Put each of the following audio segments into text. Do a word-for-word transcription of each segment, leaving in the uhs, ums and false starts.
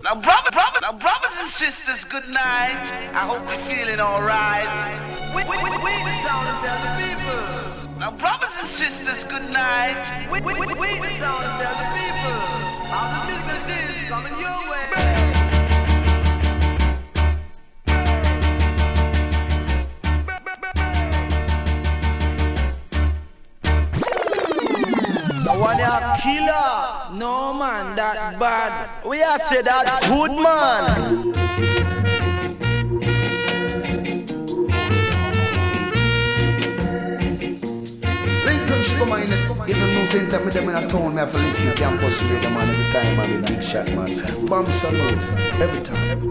Now, brother, brother, now, brothers and sisters, good night. I hope you're feeling alright. We, we, we, we the town and tell the people. Now, brothers and sisters, good night. We, we, we, we the town and tell the people. How the business is coming your way. One a killer. No man, that bad. We are say that good man. Lincoln come in it. Even no center me them in a town. Me have to listen to campus radio man every time. I'm a big shot man. Bomb salute every time. Every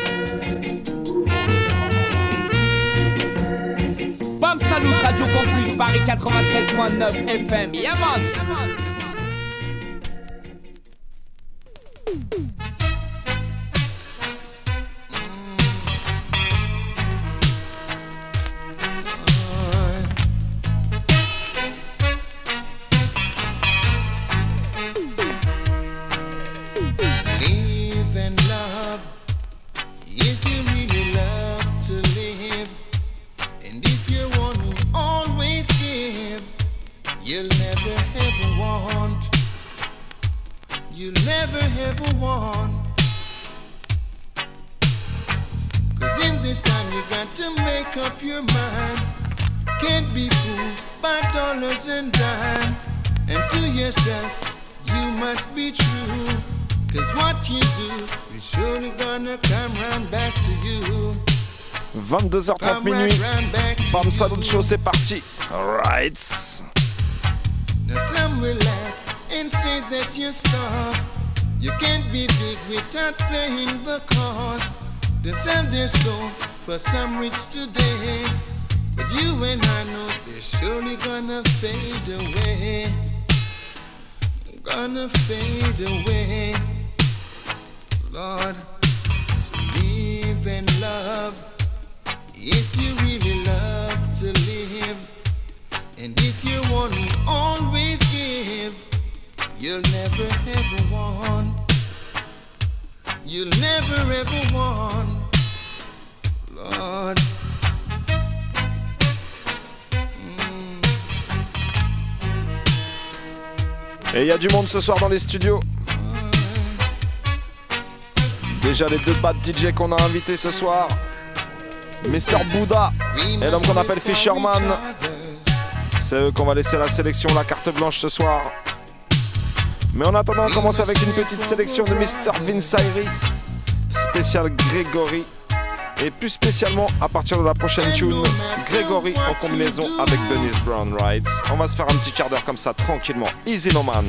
time. Bomb salute Radio Campus Paris quatre-vingt-treize point neuf F M. Yeah man. Yeah, man. vingt-deux heures trente minuit. Bam Salut Show, c'est parti. Alright. Now some will laugh and say that you're soft. You can't be big without playing the card. Then some they're so for some rich today. But you and I know they're surely gonna fade away. Gonna fade away. Lord, so live and love. If you really love to live, and if you want to always give, you'll never ever want, you'll never ever want, Lord. Mm. Et il y a du monde ce soir dans les studios. Déjà les deux bad D J qu'on a invités ce soir. Mister Bouddha et l'homme qu'on appelle Fisherman. C'est eux qu'on va laisser la sélection, la carte blanche ce soir. Mais en attendant, on commence avec une petite sélection de Mister Vince Ayri, spécial Grégory. Et plus spécialement, à partir de la prochaine tune, Grégory en combinaison avec Dennis Brown Wright. On va se faire un petit quart d'heure comme ça, tranquillement. Easy no man.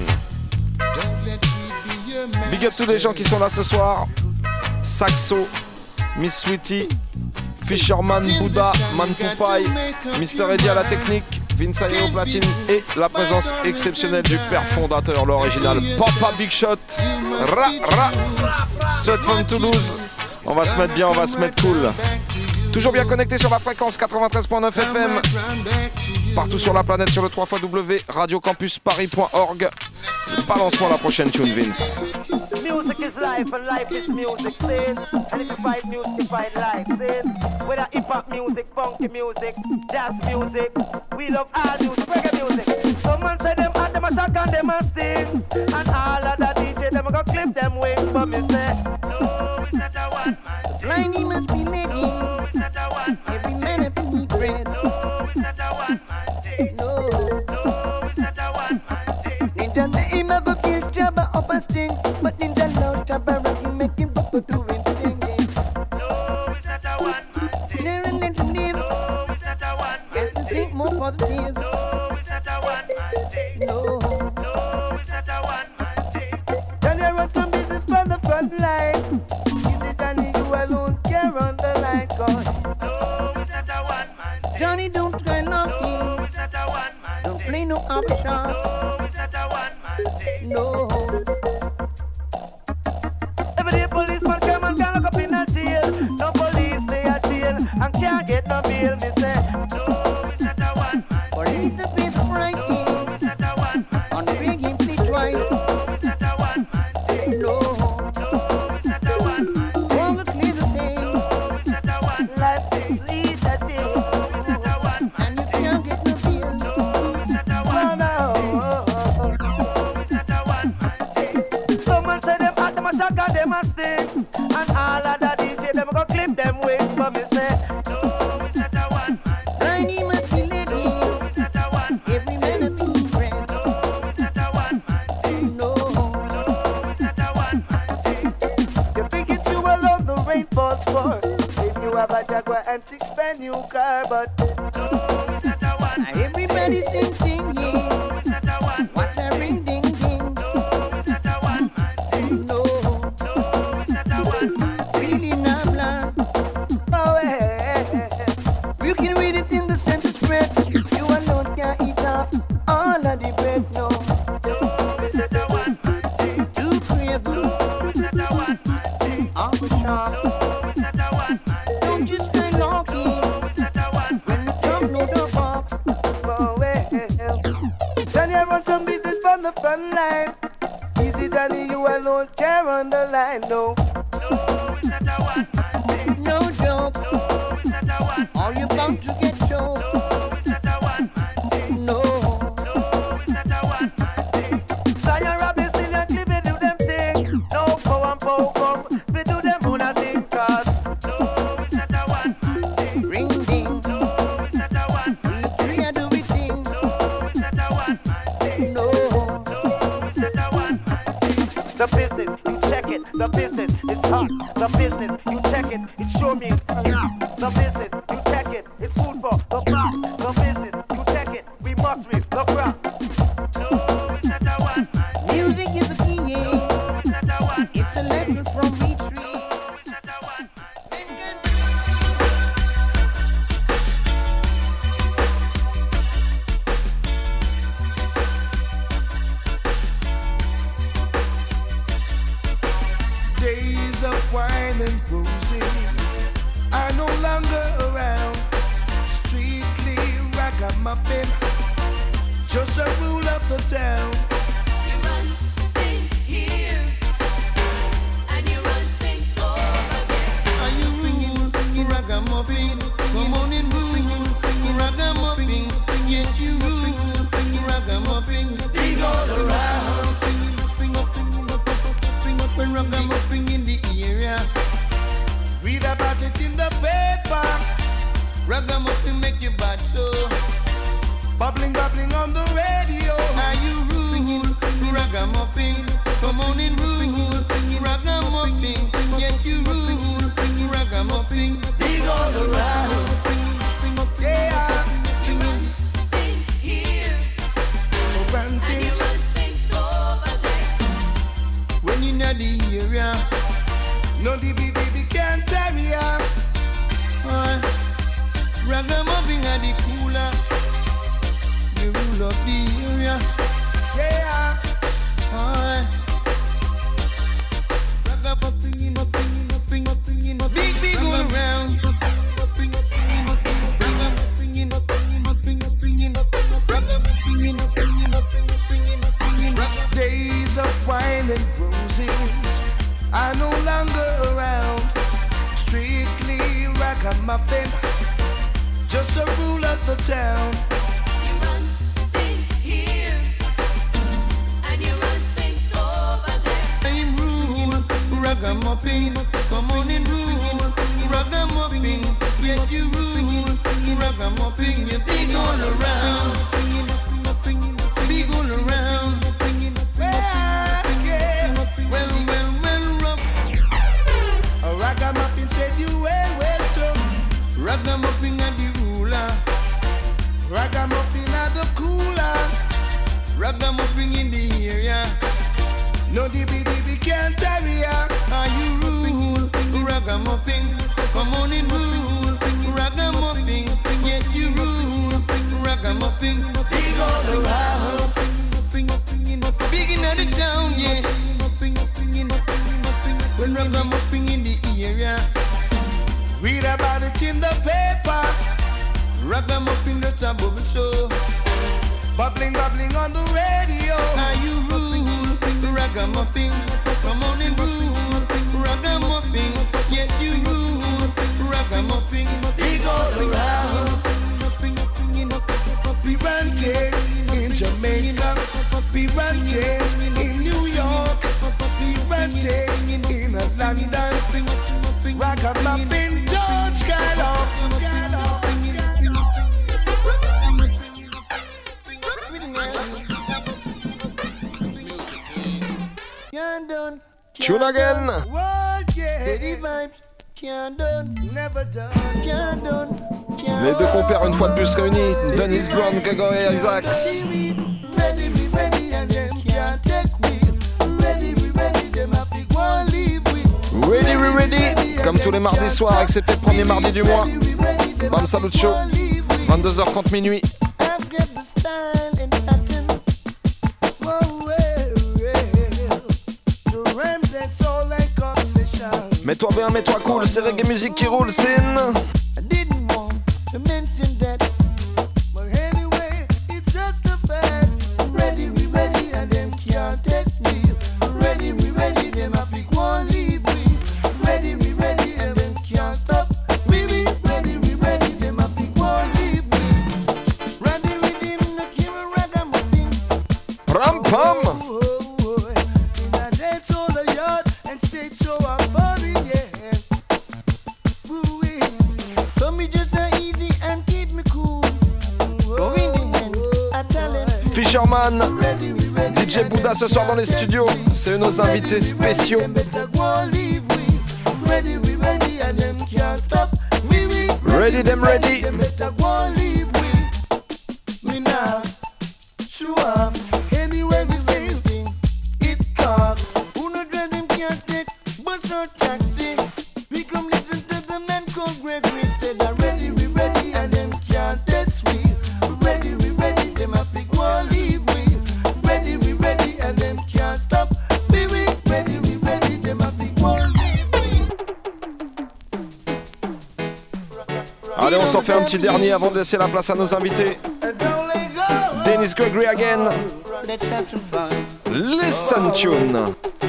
Big up tous les gens qui sont là ce soir. Saxo, Miss Sweetie, Fisherman, Bouddha, Man Poupaille, Mister Eddy à la technique, Vince Ayri au platine et la présence exceptionnelle du père fondateur, l'original Papa Big Shot. Ra ra. Straight from Toulouse. On va se mettre bien, on va se mettre cool. Toujours bien connecté sur la fréquence quatre-vingt-treize point neuf F M. Partout sur la planète sur le w w w point radio campus paris point org. Balance-moi la prochaine tune, Vince. Music is life and life is music, see? And if you fight music, you fight life, see? Whether hip-hop music, funky music, jazz music, we love all music, reggae music. Someone say them hot, them a shock and them a sting. And all of the D J, them a go clip them wings. But me say, no, it's not a one man thing. Blind, he must be living. No, it's not a one man thing. Every man have to eat bread. No, it's not a one man thing. No, no, it's not a one man thing. Ninja say him a go kill Jabba up a sting. But Ninja love Jabba rock, he make him go through him thing. No, it's not a one man thing. No, it's not a one man thing. Think more positive. No, it's not a one man thing. No, no, it's not a one man thing. Then you run some business for the front line. Is it only you alone care on the line? God, no, it's not a one man thing. Johnny, don't try nothing. No, it's not a one man thing. Don't play no option. No, it's not a one man thing. No. Every day policeman come and can look up in a jail. No police stay at jail and can't get no bail. Me say, no, it's not a one man thing. Or it's a bit frightening. No, it's not a one man thing. On the ring him play twice. No, it's not a one man thing. No, no, it's not a cause them a sting. And all of the D J, them go clip them wings. But me say, no, it's not a one man thing. Tiny Matilda, no, it's not a one man every man a two friend. No, it's not a one man thing. No, no, it's not a one man thing. You think it's you alone the rain falls for? Maybe you have a Jaguar and six brand new car, but no, it's not a one man. Everybody's singing, yeah. No, it's not a one. What a ring ding ding. No, it's not a one man thing. No, no, it's not a one man thing. Really nabla. Oh, hey. You can read it in the center spread. You alone can't eat off all of the bread. No, no, it's not a one man thing. Too crave. No, it's not a one man thing. Off the top. No, it's not a one man thing. Don't just stay lucky. No, it's not a one man thing. When you come no the box. Oh, well. Johnny, I run some business from the front line. Easy, Johnny, you alone can't run the line. No, no, it's not a one man thing. No joke. No, it's not a one man thing. All you bound to get choked. No, it's not a one man thing. No, no, it's not a one man thing. Zion Robinson and Cliffy do them thing. No, go and go come. We do them on a thing cause no, it's not a one man thing. Ring ding. No, it's not a one man thing. We three a do we thing. No, it's not a one man thing. No, no, it's not a one man thing. The business, you check it. The business, it's hot. The business, you check it. It sure means the business, you check it. It's food for the crop. The business, you check it. We must with the crop. No, it's not a one man. Music is the key. No, it's not a one. It's a lesson from each tree. No, it's not a one man. Days of wine and roses are no longer around. Strictly ragamuffin, just a rule of the town. You run things here, and you run things over there. Are you rule ragamuffin? Come on and rule ragamuffin. Yes, you rule ragamuffin. Big all around. When ragamuffin in the area, read about it in the paper. Ragamuffin make you bad so. Bubbling, bubbling on the radio. Are you rule ragamuffin? Come on and rule ragamuffin. Yes, you rule ragamuffin. Big all around. Yeah. Things here, and you run things over there. When you know the area, no D B D B can't tarry ya. Uh, Ragamuffin at the cooler, the rule of the area. Yeah. Uh, Ragamuffin, muffin, muffin, muffin, muffin, big big all around. Muffin, muffin, muffin, ragamuffin, muffin, muffin, muffin, ragamuffin, muffin, muffin, muffin. Days of wine and roses are no longer around. Strictly ragamuffin, just a rule of the town. You run things here, and you run things over there. I'm rule ragamuffin, come on and rule ragamuffin. Yes, you rule ragamuffin. You big all around, big all around. Well, well, well, rough. A ragamuffin said you well, well, tough. Ragamuffin and the ruler. Ragamuffin and the cooler. Ragamuffin in the area. No D B D B can't tarry ya. Are you rule? Ragamuffin, come on and rule. Ragamuffin, yes you rule. Ragamuffin, big all around. Big in the town, yeah. When ragamuffin in the area, read about it in the paper. Ragamuffin just a bubble show, bubbling, bubbling on the radio. Are you rule? Ragamuffin, come on and rule. Ragamuffin, yes you rule. Ragamuffin, big all around. We run things in Jamaica. We run things in New York. We run things in London, Ragamuffin, George Gallo. Tune again. Les deux compères une fois de plus réunis, Dennis Brown, Gregory Isaacs. Ready, we ready. Comme tous les mardis soirs, excepté le premier mardi du mois. Bam Salut Show, vingt-deux heures trente minuit. Mets-toi bien, mets-toi cool, c'est reggae musique qui roule, c'est Ram Pam. Fisherman, D J Bouddha ce soir dans les studios, c'est nos invités spéciaux. Ready them ready. Allez, on s'en fait un petit dernier avant de laisser la place à nos invités. Dennis Gregory again. Listen tune.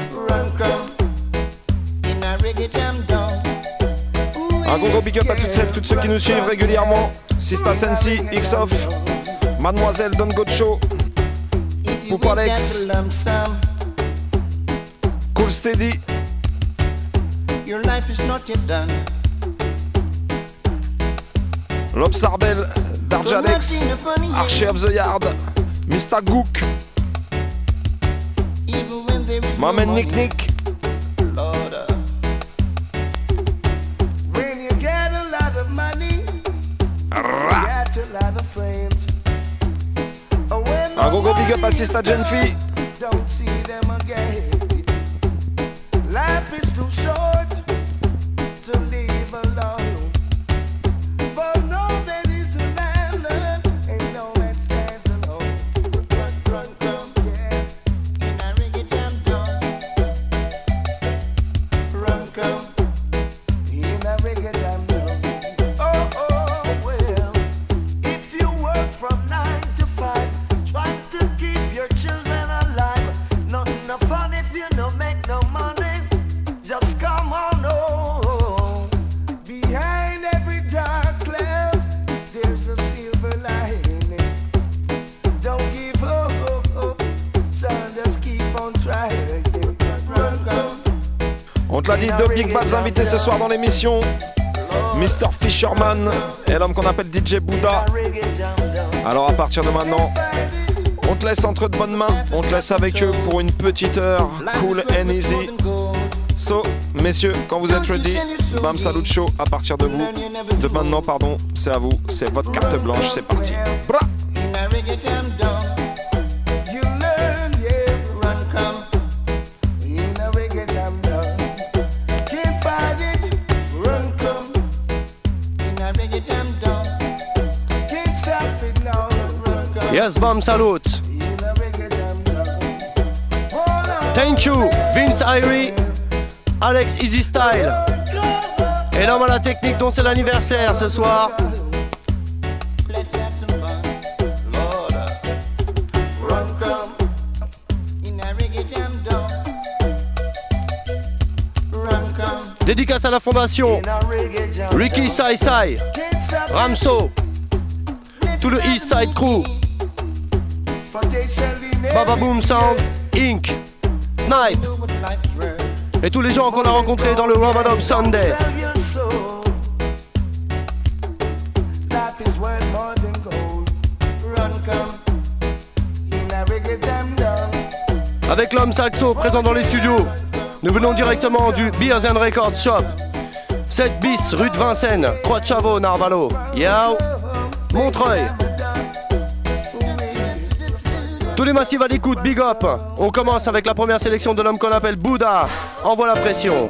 Un gros gros big up à toutes celles, toutes ceux qui nous suivent régulièrement. Sista Sensi, X-Off, Mademoiselle Don Gocho, Poupa Alex, Cool Steady. Your life is not yet done. L'Obsarbel, Darjalex, Archer of the Yard, Mister Gook, Maman Nick Nick. When you get a lot of money, you get a lot of friends. Un gros gros big up à Sista Genfi. Don't see them again. Life is too short to live alone. On te l'a dit, deux big bads invités ce soir dans l'émission. Mister Fisherman et l'homme qu'on appelle D J Bouddha. Alors à partir de maintenant, on te laisse entre de bonnes mains. On te laisse avec eux pour une petite heure. Cool and easy. So, messieurs, quand vous êtes ready, Bam Salut Show à partir de vous. De maintenant, pardon, c'est à vous. C'est votre carte blanche, c'est parti. Bra! Yes, Bam Salut. Thank you, Vince Irie, Alex Easy Style. Et l'homme à la technique dont c'est l'anniversaire ce soir. Dédicace à la fondation Ricky Sai Sai, Ramso, tout le East Side Crew, Baba Boom Sound, Inc, Snipe, et tous les gens qu'on a rencontrés dans le Ramadan Sunday. Avec l'homme Saxo présent dans les studios, nous venons directement du Beers and Records Shop, sept bis rue de Vincennes, Croix de Chavaux, Narvalo. Yao, Montreuil. Tous les massifs à l'écoute, big up. On commence avec la première sélection de l'homme qu'on appelle Bouddha. Envoie la pression.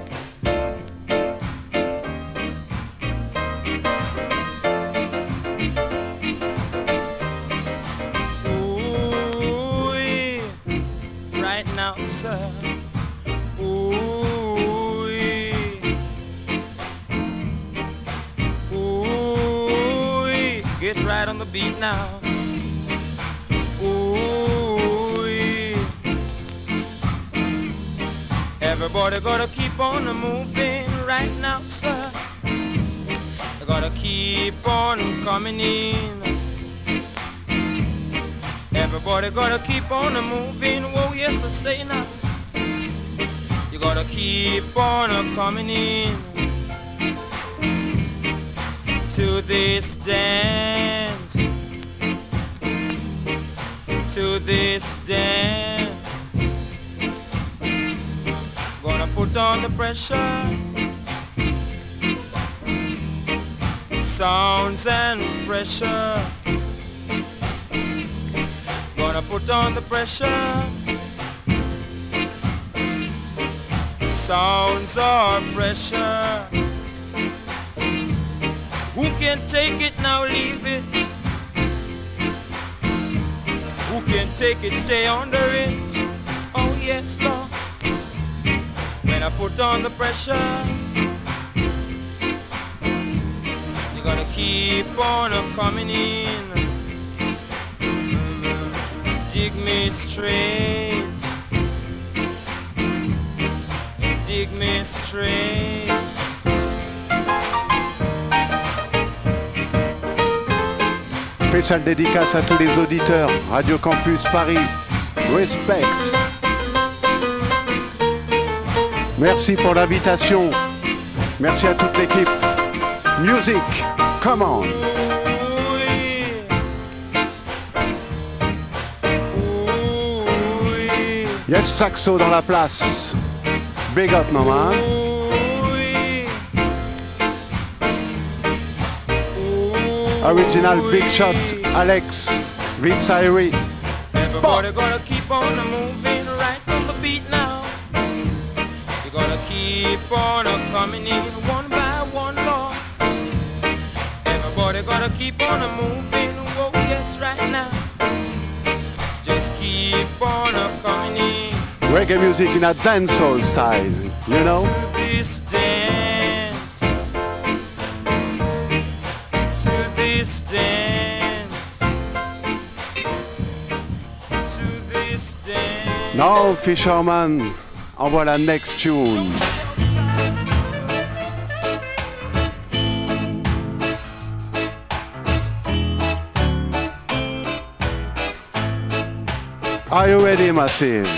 Get right on the beat now. Ooh, everybody gotta keep on moving right now, sir. They gotta keep on coming in. Everybody gotta keep on moving. Whoa, yes, I say now. You gotta keep on coming in. To this dance, to this dance, gonna put on the pressure, sounds and pressure, gonna put on the pressure, sounds of pressure. Who can take it now, leave it? Who can take it, stay under it? Oh yes, Lord. When I put on the pressure, you gotta keep on coming in. Dig me straight. Dig me straight. Spéciale dédicace à tous les auditeurs. Radio Campus Paris. Respect. Merci pour l'invitation. Merci à toute l'équipe. Music, come on. Yes, Saxo dans la place. Big up, maman. Original Big Shot, Alex, Vince Irie. Everybody gonna keep on moving right on the beat now. You gotta keep on coming in one by one, Lord. Everybody gotta keep on moving, oh yes, right now. Just keep on coming in. Reggae music in a dancehall style, you know? To this dance, to this dance, to this dance. Now, Fisherman, envoie la next tune. Are you ready, Massive?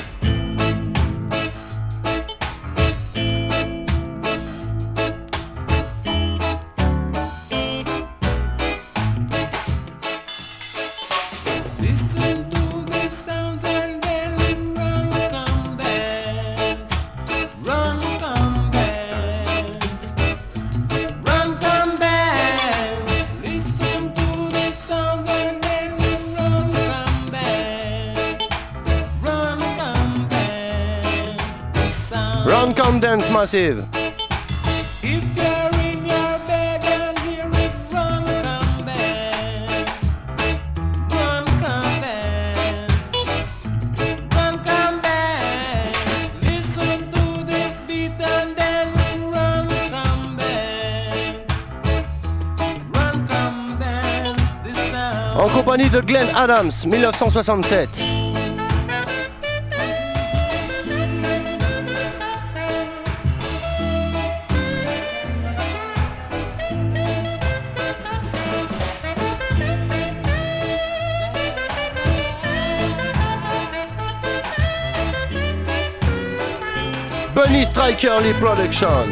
Listen to the sounds and then run, come dance. Run, come dance. Run, come dance. Listen to the sounds and then run, come dance. Run, come dance. The sound. Run, come dance, Massive. If you're in your bed and hear it, run, come dance. Run, come dance. Run, come dance. Listen to this beat and then run, come dance. Run, come dance. This sound. En compagnie de Glenn Adams, mille neuf cent soixante-sept. Bunny Striker Lee Production.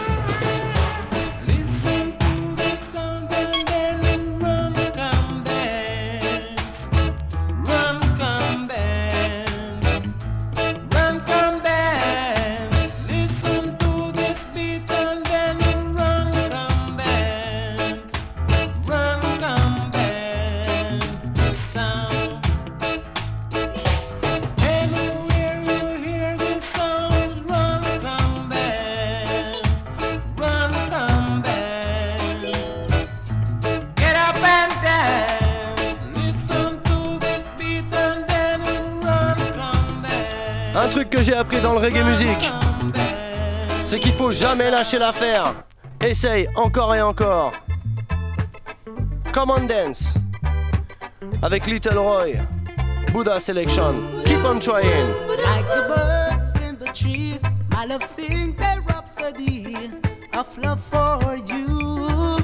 Un truc que j'ai appris dans le reggae music, c'est qu'il faut jamais lâcher l'affaire. Essaye encore et encore. Come on dance. Avec Little Roy, Buddha Selection. Keep on trying. Like the birds in the tree, my love sings a rhapsody of love for you.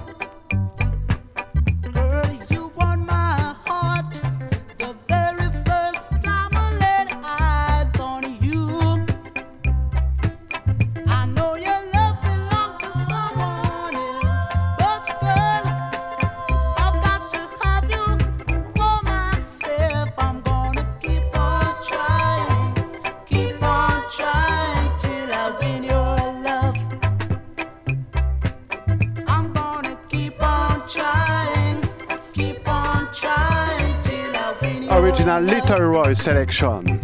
Girl, you won my heart the very first time I laid eyes on you. I know your love belongs to someone else, but girl, I've got to have you for myself. I'm gonna keep on trying, keep on trying till I win your love. I'm gonna keep on trying, keep on trying till I win your Original love. Little Roy selection.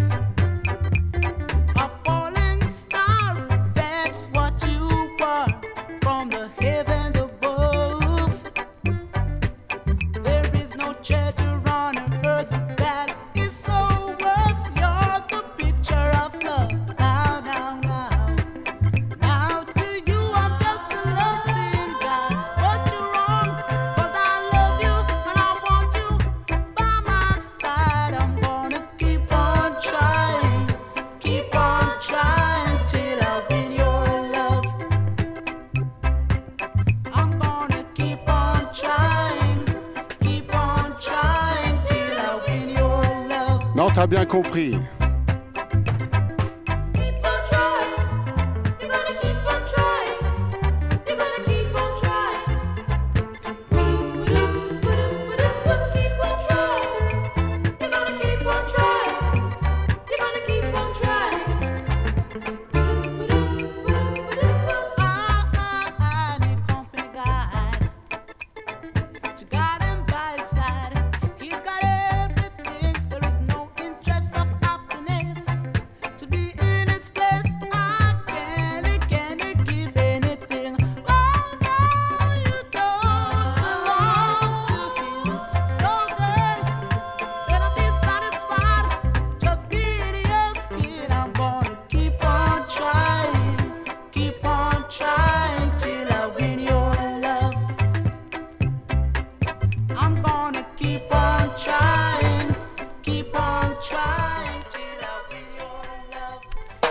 A falling star, that's what you are from the heavens above. There is no treasure on earth that is so worth. You're the picture of love. Now, now, now. Now to you I'm just a love singer. But you're wrong, 'cause I love you and I want you by my side. I'm gonna keep on trying, keep on trying till I win your love. I'm gonna keep on trying, keep on trying till I win your love. Non, t'as bien compris. Keep on trying, you're gonna keep on trying, you're gonna keep on trying. Keep on trying, you're gonna keep on trying, you're gonna keep on trying. I need company guide to guide him by his side. He's got everything, there is no interest of happiness. To be in his place, I can't, can't give anything. Oh no, you don't belong to him. So good, gonna be satisfied, just be in your skin. I'm gonna keep on trying, keep on trying till I win your love. I'm gonna keep on trying, keep on trying till I win your love.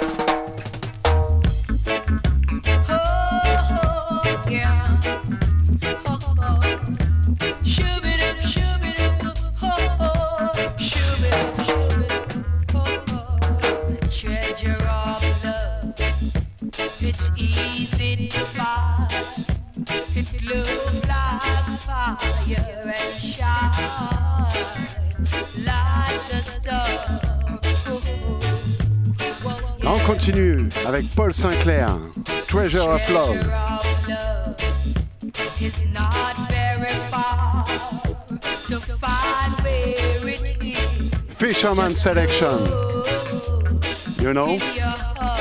Oh, yeah. Oh, oh. Shoo-be-doo, shoo-be-doo, oh, oh. Shoo-be-doo, shoo-be-doo, oh, oh. The treasure of love, it's easy to find. It looks like fire and shine like the stars. Là, on continue avec Paul Sinclair, Treasure of Love. It's not very far to find where it is. Fisherman selection. You know? In your heart.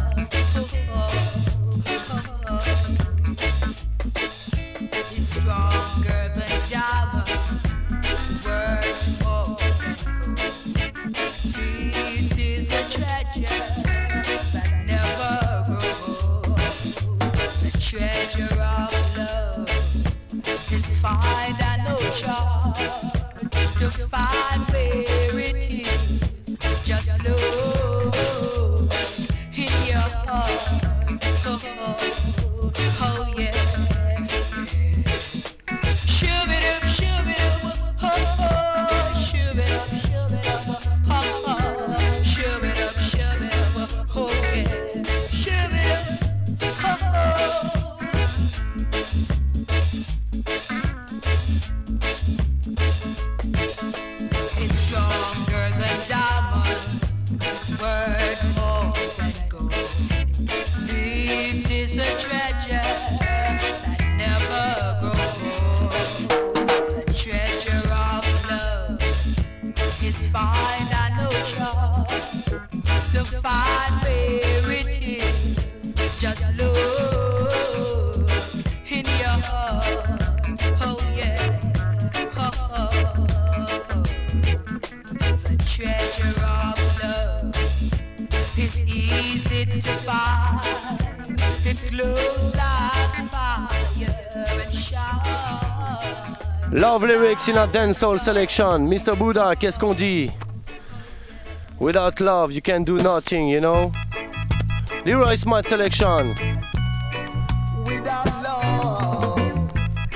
It's stronger than diamond. Words more than gold. It is a treasure that never grows. The treasure of love is find an ocean to find where it is. Just look in your heart. Oh, oh, oh yeah. Shoo-be-doo, shoo-be-doo, oh, oh. Shoo-be-doo, shoo-be-doo, oh, oh. Shoo-be-doo, shoo-be-doo, oh yeah. Love lyrics in a dancehall selection. mister Buddha, qu'est-ce qu'on dit? Without love, you can do nothing, you know? Leroy Smart selection. Without love,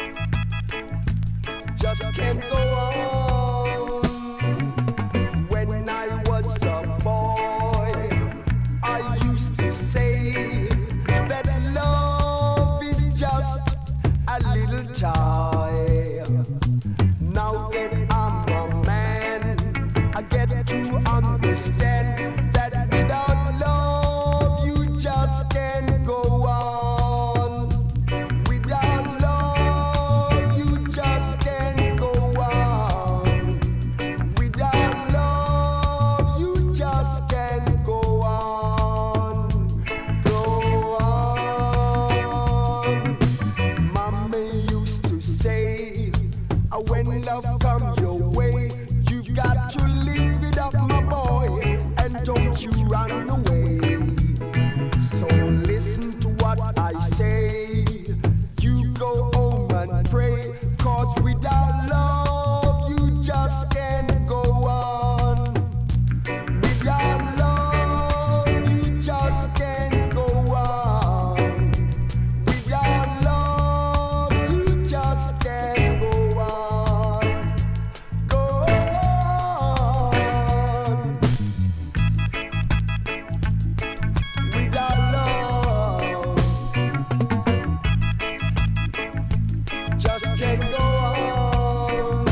just can't go on. When I was a boy, I used to say that love is just a little toy. Now that I'm a man, I get to understand that without love, you just can't go on. Without love, you just can't go on. Without love, you just can't go on. Go on. Mommy used to say, uh, when love come your way, you've got to live it up, my boy, and don't you run away. So listen to what I say. You go home and pray, cause without love you just can't go on. Without love you just can't go on. Without love you just can't go on. Go on. Without love, just can't go on.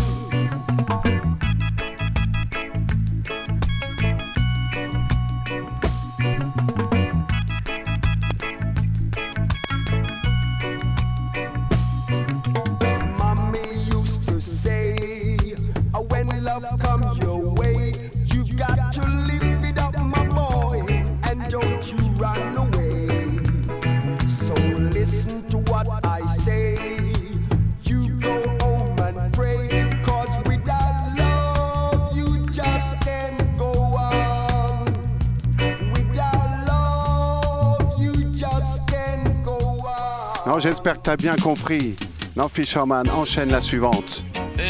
Mommy used to say, uh, when love come your way, you've got to live it up, my boy, and don't you run away. So listen to what I say. You go home and pray, cause without love you just can't go on. Without love you just can't go on. Non, j'espère que t'as bien compris. Non, Fisherman, enchaîne la suivante.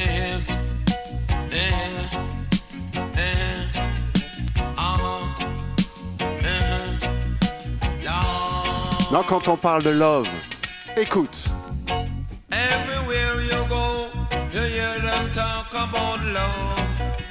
Non, quand on parle de love, écoute. Everywhere you go, you hear them talk about love.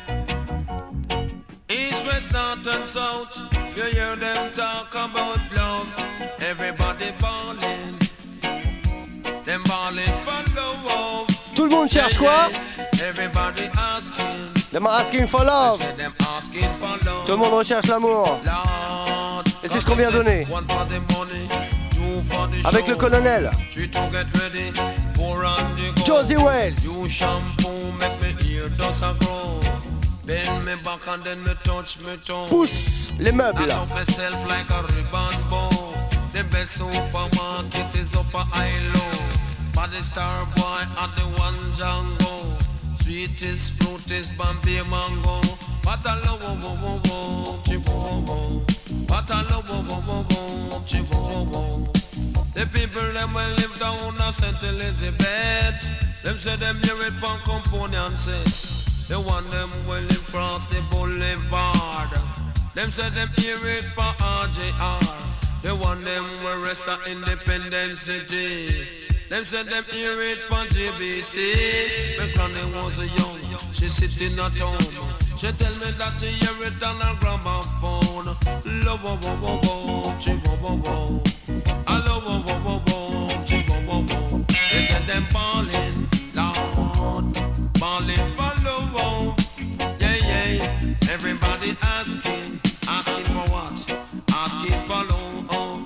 East, west, north and south, you hear them talk about love. Everybody ballin', them ballin' for love. Tout le monde cherche quoi? Everybody asking, Them asking for love. say them asking for love. Tout le monde recherche l'amour. Lord, Et c'est ce qu'on vient donner. one for the money, two for the Avec show. le colonel Three to get ready, four on the go. Josie Wells. You shampoo make me ear dust a grow. Bend me back and then me touch me toe. Pousse les meubles. I top myself like a ribbon bow. The best supermarket is up a high low. But the star boy at the one Django. Sweetest fruit is Bambi mango. What a love, wo wo wo wo, chibo wo wo. What a love, wo wo wo wo, chibo wo wo. The people them will live down a Saint Elizabeth. Them say them hear it from component set. The one them will live cross the boulevard. Them say them hear it from R J R. The one them will rest at Independence City. Them say them hear it from J B C. When Granny was young, she sitting at home. She tell me that she hear it on her gramophone. Love, wo wo wo wo, chi wo wo wo. I love, wo wo wo wo, chi wo wo wo. They say them ballin', Lord, ballin' for love, wo. Yeah yeah. Everybody asking, asking for what? Asking for love, oh.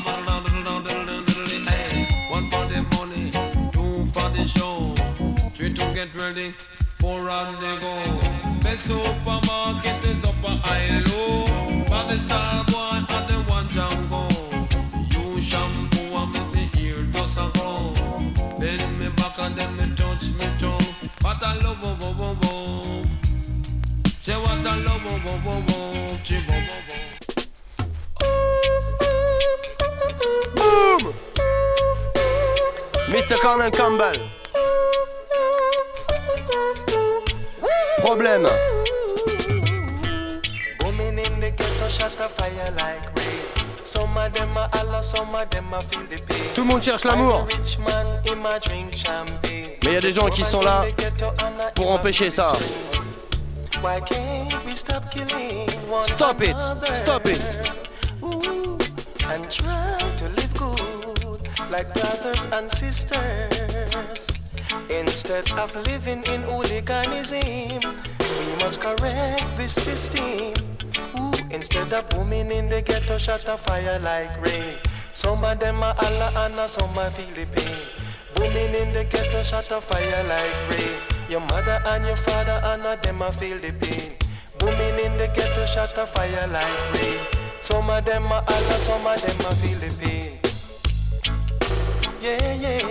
Hey, one for the money, two for the show, three to get ready, four on the go. The supermarket is up a high low. But the star boy and the one Django. You shampoo and make me ear dust a grow. Bend me back and then me touch me toe. What a love, wo wo wo wo. Say what a love, wo wo wo wo. Chi wo wo wo. Boom! mister Colonel Campbell. problème. Booming in the ghetto, shut a fire like rain. Some of them are Allah, some of them are feel the pain. Tout le monde cherche l'amour. Rich man, him a drink champagne. Mais il y a des gens qui sont là pour empêcher ça. Why can't we stop killing one Stop it, another? stop it. Ooh, and try to live good like brothers and sisters. Instead of living in hooliganism, we must correct this system. Ooh, instead of booming in the ghetto, shut a fire like rain. Some of them are Allah and some are feel the pain. Booming in the ghetto, shut a fire like rain. Your mother and your father and them are feel the pain. Booming in the ghetto, shut a fire like rain. Some of them are Allah, some of them are feel the pain. Yeah, yeah.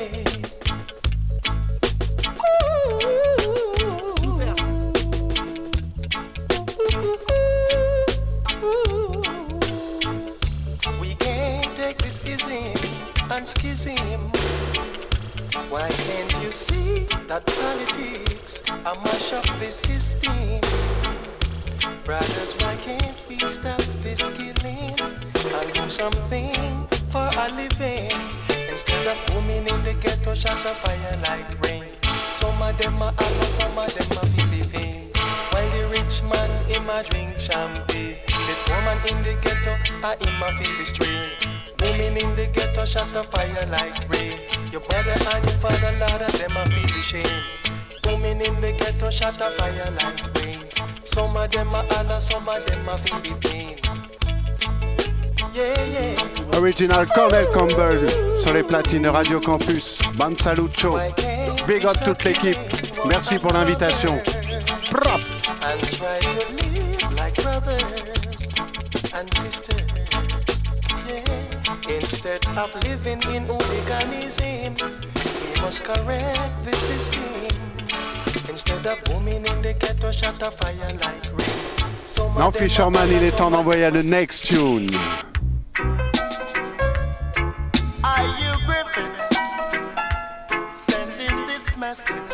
We can't take this ism and schism. Why can't you see that politics a mash up the system? Brothers, why can't we stop this killing and do something for a living? Instead of booming in the ghetto, shut a fire like rain. Some of them are Allah, some of them are feel the pain. While the rich man, him a drink champagne. The poor man in the ghetto, a him a feel the strain. Booming in the ghetto, shut a fire like rain. Your brother and your father, Lord, of them a feel the shame. Booming in the ghetto, shut a fire like rain. Some of them are Allah, some of them a feel the pain. Yeah, yeah. Original Cornell Campbell sur les platines de Radio Campus. Bam Salut Show. Big up toute l'équipe. Merci pour l'invitation. Prop. And try to live like brothers and sisters. Yeah. Instead of living in hooliganism, we must correct the system. Instead of booming in the ghetto, shut a fire like rain. Non, Fisherman, il est temps d'envoyer le next tune. Are you Griffiths sending this message?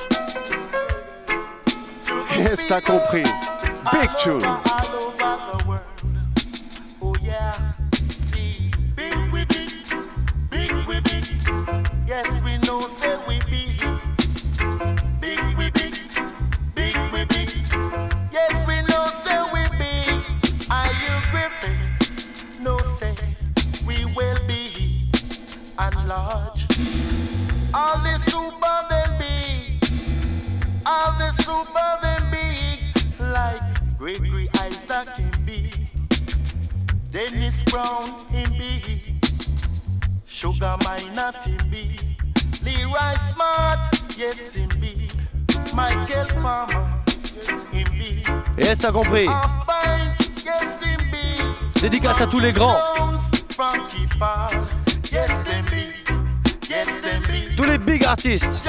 Yes, t'as compris. Big tune. All over the world. Oh yeah. See, big we big, big we big. Yes, we know, say we big. Big we big, big we big. Yes, we know, say we big. Are you Griffiths? No, say we will be enlarged. All the super them big, all the super them big, like Gregory Isaac in big, Dennis Brown in big, Sugar Minot in big, Leroy Smart, yes in big, Michael Palmer in big. Yes, t'as compris. Yes in big. Dédicace à tous les grands. Frankie Paul, yes them big. Yes, them big. Tous les big artistes.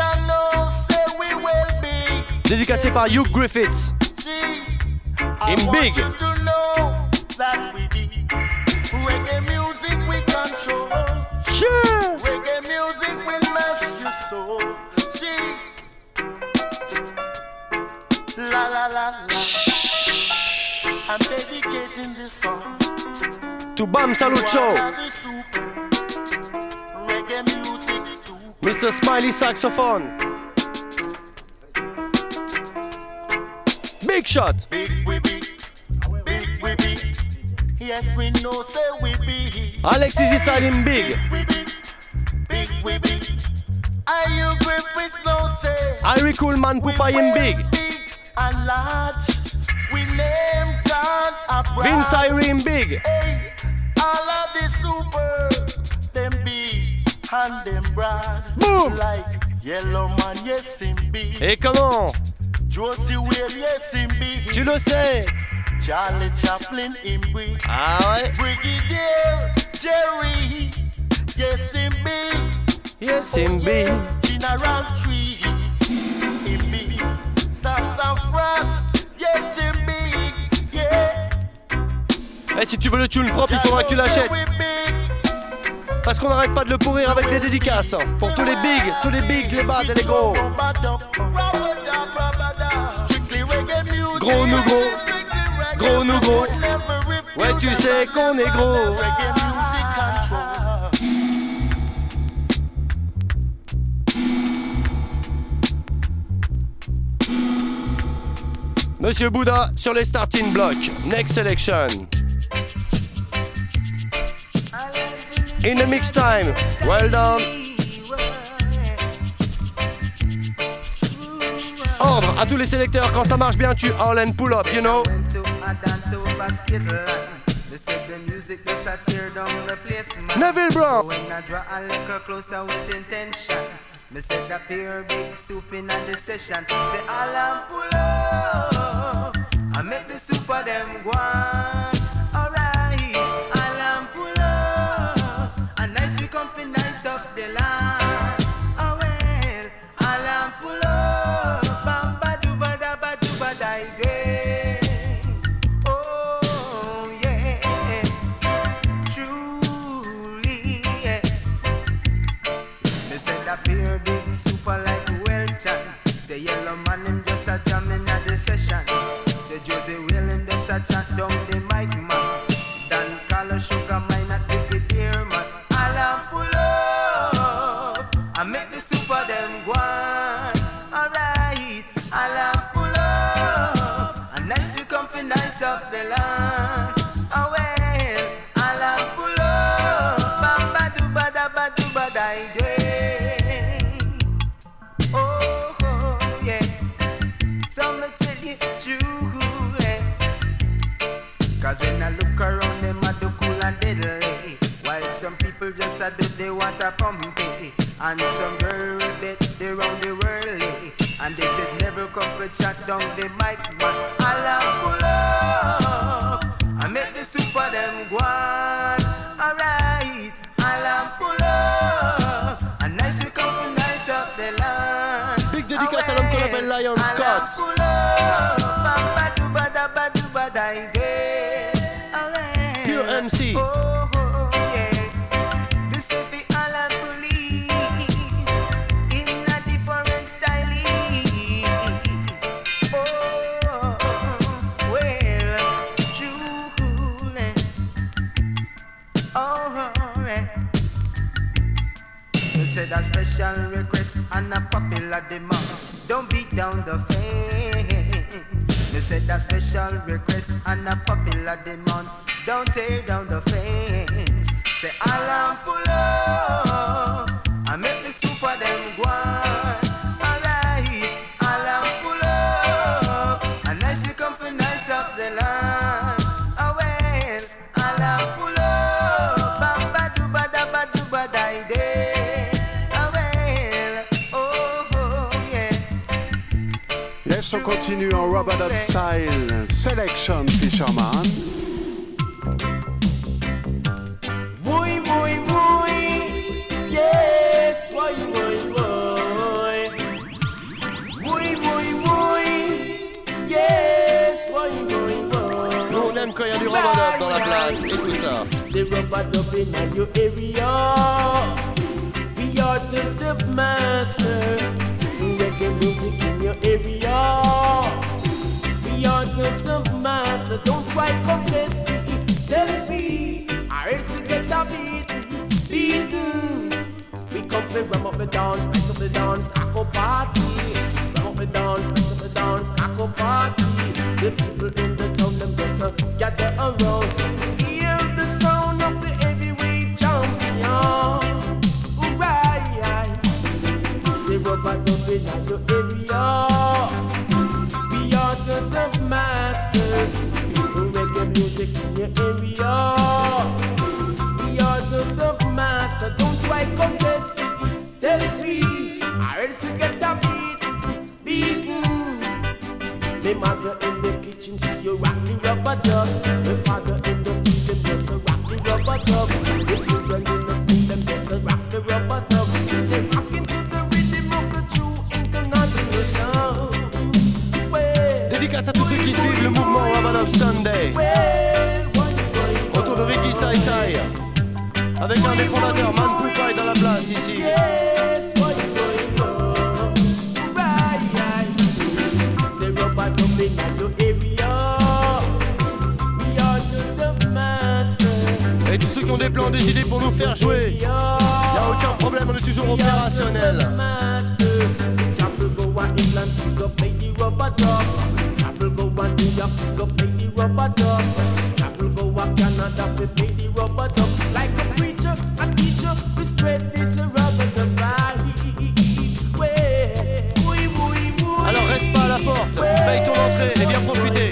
Dédicacé par Hugh Griffiths. In big. Reggae music we control. Yeah. Reggae music will mess your soul. See. La la la la. I'm dedicating this song to Bam Salut Show. Reggae music. Mister Smiley Saxophone. Big shot. Big we big. Big we big. Yes, we know, say we big. Alex Easy Style in big. Big we big. Are you Griffiths no say? Irie Coolman Pupa in big. Big and large. We name God a bride. Vince Irie in big. Hey, all of the supers, them big and them broad. Boom. Like Yellow Man, yes in big. Et comment? Josie Whale, yes in big. Tu le sais. Charlie Chaplin in big. Ah ouais. Brigadier Jerry, yes in big. Yes in big. General Trees in big. Sassafras, yes in big. Yeah. Et si tu veux le tune propre, il faudra que tu l'achètes. Parce qu'on n'arrête pas de le pourrir avec des dédicaces. Pour tous les bigs, tous les bigs, les bad et les gros. Strictly reggae music. Gros nous gros, gros nous gros. Ouais, tu sais qu'on est gros. Monsieur Bouddha sur les starting blocks. Next selection. In the mix time. Well done. Ordre à tous les sélecteurs, quand ça marche bien, tu all and pull up, you know. Neville Brown. Me said that pair big soup in the session. Say all and pull up, I make the soup of them go on. Alright, all and pull up, and nice we come for nice up the land. Oh well, all and pull up, bam ba do ba da ba do ba da day. Oh yeah, truly yeah. Me said that pair big super like Welton. Say yellow man him just a jamming at the session. Say Josie Will him just a chat down the mic man. Dan Carlo Sugar mine at the dear man. All and pull up, I make the super them go on. Alright, all and pull up, and nice we come for nice up the land. Oh well, all and pull up, bam ba do ba da ba do ba da day. Oh, oh, yeah. So me tell you true, yeah. Cause when I look around them I do cool and deadly. While some people just a do they want a pumpy. And some girl bet they round the world. And they said never come for chat down the mic. But I'll pull up, I make the super them go on. Alright, I'll pull up, and nice we come for nice up the land. Big dédicace à l'homme qu'on appelle Lion Scott. Pure M C. Oh, oh, yeah. This is the Alan Police in a different style. Oh, well, truly. Oh, yeah. You said a special request and a popular demand. Don't beat down the fence. You said a special request and a popular demand. Don't tear down the fence. Say Alan pull up, I make the super them go on. Alright, Alan pull up, and nice we come for nice up the land. Oh well, Alan pull up, bam ba do ba da ba do ba da day. Oh well, oh oh yeah. Yes, on continue en rub-a-dub style. Selection Fisherman. Boy, boy, boy, yes, boy, boy, boy. Boy, boy, boy, yes, boy, boy, boy. Nous on aime quand il y a du rub-a-dub dans la place et tout ça. C'est rub-a-dub in your area. We are the dub master. Reggae music in your area. We are the dub master. Don't try to compress me. Tell me. I also get a beat, beaten. We come to ram up the dance, nice up the dance, caco party. Ram up the dance, nice up the dance, caco party. The people in the town, them just uh, gather around. Hear the sound of the heavyweight champion. Right, say rub-a-dub in your area. We are the dub master. Reggae music in your area. The dub master, don't try contest. Tell me, I else you get a beat, beaten. The mother in the kitchen, she you rock the rub-a-dub. The father in the field, them just a rock the rub-a-dub. The children in the street, them just a rock the rub-a-dub. They rockin' to the rhythm of the true international sound. Dédicace à tous ceux qui suivent le mouvement Rub-a-Dub Sunday. Autour de Ricky Sai Sai. Avec un des fondateurs, Man Poupaï dans la place ici. Yes, boy, boy, boy. Right, right. Say rub-a-dub in your area. Et tous ceux qui ont des plans, des idées pour nous faire jouer, y'a aucun problème, on est toujours opérationnel. Travel go a England, pick up lady rubber dub. Travel go a New York, pick up lady rubber dub. Travel go a Canada, with lady rubber dub. Like a preacher, a teacher, we spread this rubber dub right. Alors reste pas à la porte, paye ton entrée et viens profiter.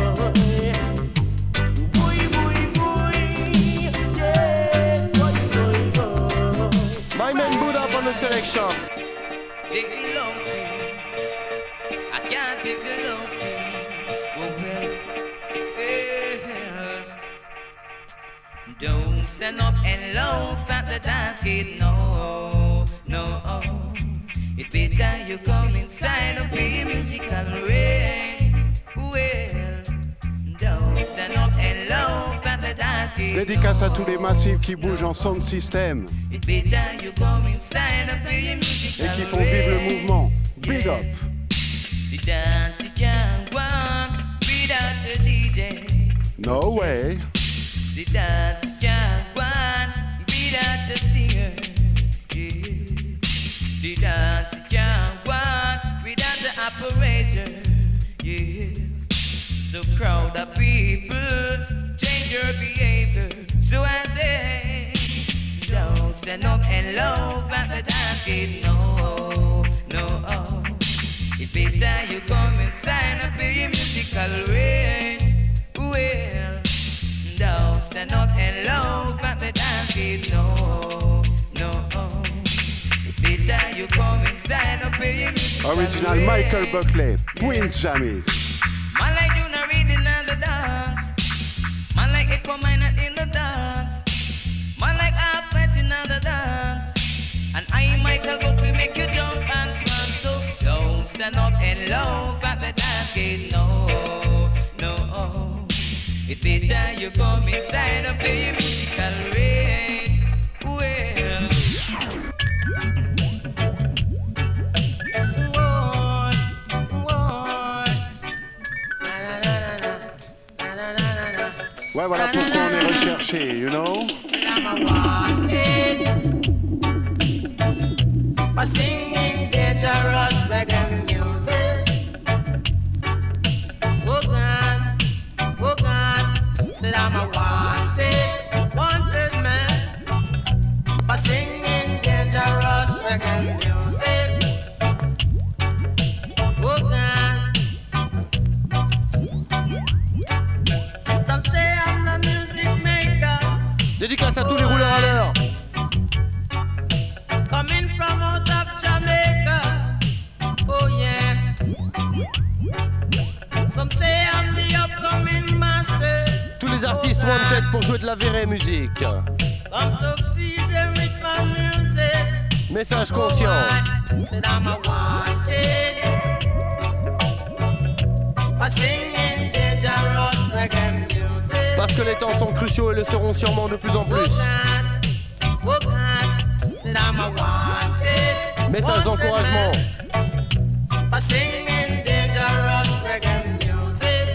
My man Buddha on the selection. Take the love thing. I can't take the love thing. Oh well, well. Don't stand up and loaf at the dance gate. No, no. It better you come inside and be musical rain. Well, don't stand up and loaf at the dance gate. Dédicace à tous les massifs qui bougent en sound system It better you come inside and be musical et qui font vivre le mouvement. Big up. The dance you can't go on without a D J. No way. The dance you can't go on without a singer. Yeah. The dance you can't go on without the operator. Yeah. So crowd of people change your behavior. So I say, don't stand up and love at the dance gate. No, no. It better you come inside and be musical rain. Well, don't stand up and love at the dance gate. No, no. It better you come inside and be musical Original rain. Michael Buckley, Prince Jamis. Man like you not reading on the dance. Man like Echo Minor in the dance. Man like half in the dance. And I, Michael Buckley, make you jump and prance. So don't stand up and love at the dance gate. No, no. It better you come inside and be musical rain. Well. Ouais, voilà pourquoi on est recherché, you know? For singing dangerous reggae music. Oh God, oh God, said I'm a wanted, wanted man. For singing dangerous reggae music. Oh God. Some say I'm the music maker. Dédicace à tous les rouleurs à l'heure. Coming from out of Jamaica. Oh yeah. Some say I'm the upcoming master. Tous les artistes wanted pour jouer de la vraie musique. Come to feed them with my music. Message conscient. Oh, said I'm a wanted. For singing dangerous reggae music. Parce que les temps sont cruciaux et le seront sûrement de plus en plus. Oh God, said I'm a wanted. Message d'encouragement. For singing dangerous reggae music.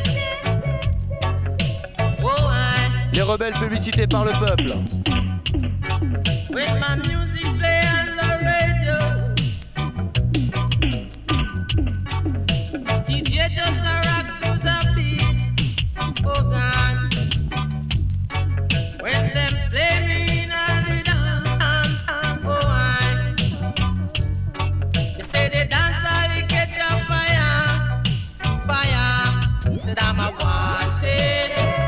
Oh, I, Les rebelles publicités par le peuple. with my music play on the radio. D J just a rock to the beat. Oh God, when them play me in a the dance. Oh I, you say the dance all they catch a fire, fire. Said I'm a wanted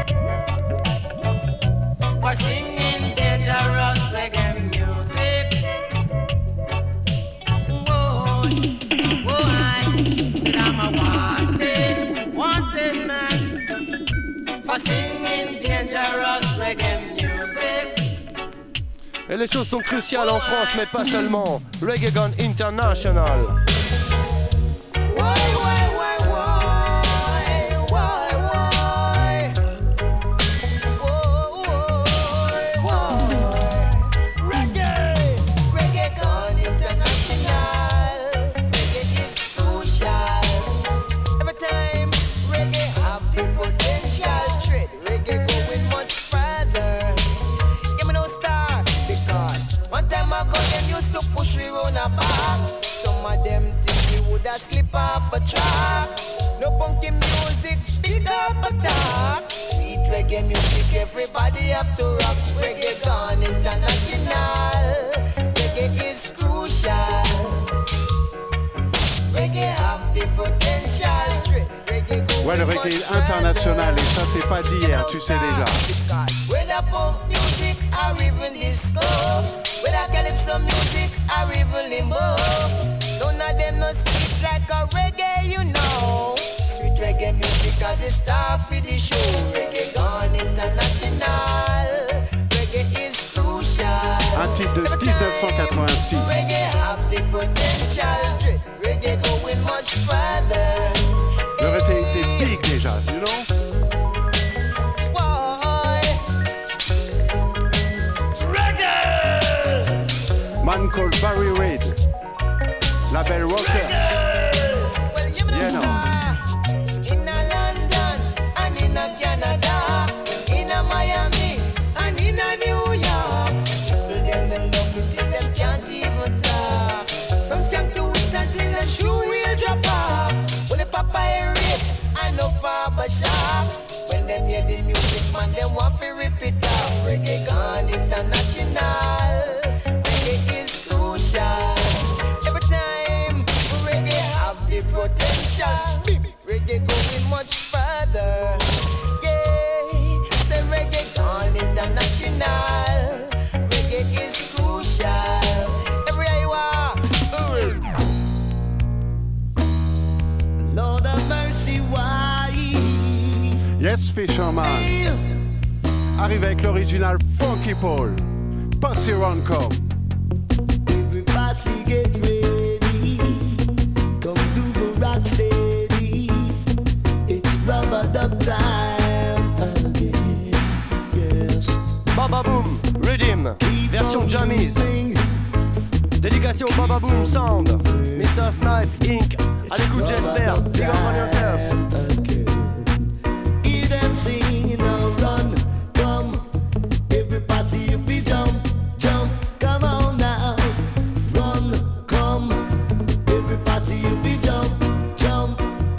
for singing dangerous reggae music. Whoa, whoa, I said I'm a wanted, wanted man for singing dangerous reggae music. Et les choses sont cruciales en France, mais pas seulement. Reggae Gone International. turn a back. Some of them think we woulda slip off a track. No punky music, big up attack. Sweet reggae music, everybody have to rock. Reggae gone international. Reggae is crucial. Reggae have the potential. Reggae go Ouais, le reggae est international et ça c'est pas d'hier, tu sais déjà. Whether punk music or even disco, whether calypso music or even limbo, none of them no sweet like a reggae, you know. Sweet reggae music are the star for the show. Reggae gone international. Reggae is crucial. Un titre de dix-neuf cent quatre-vingt-six. Reggae have the potential. Reggae going much further. Le reggae était big déjà, you know. Man called Barry Reid, label Rockers. You know. In a London and in a Canada, in a Miami and in a New York, people them them love it till them can't even talk. Some sing to it until the shoe will drop off. When the papa rip and no father shock. When them hear the music, man, them want to rip it off. Reggae gone international. Reggae is crucial. Every time reggae have the potential. Reggae going much further. Yeah, say reggae gone international. Reggae is crucial. Everywhere you are. Lord have mercy, why? Yes, Fisherman. Arrive avec l'original Funky Paul. Posse Roncom. Everybody get ready. Come do the rock steady. It's rubber dub time again. Yes. Baba Boom, Rhythm, version Jammies. Dédication au Baba Boom Sound. mister Snipe Incorporated. À l'écoute, j'espère. Big up on yourself. Hear them singing now, run, come. Everybody you be jump, jump, come on now. Run, come. Everybody you be jump, jump.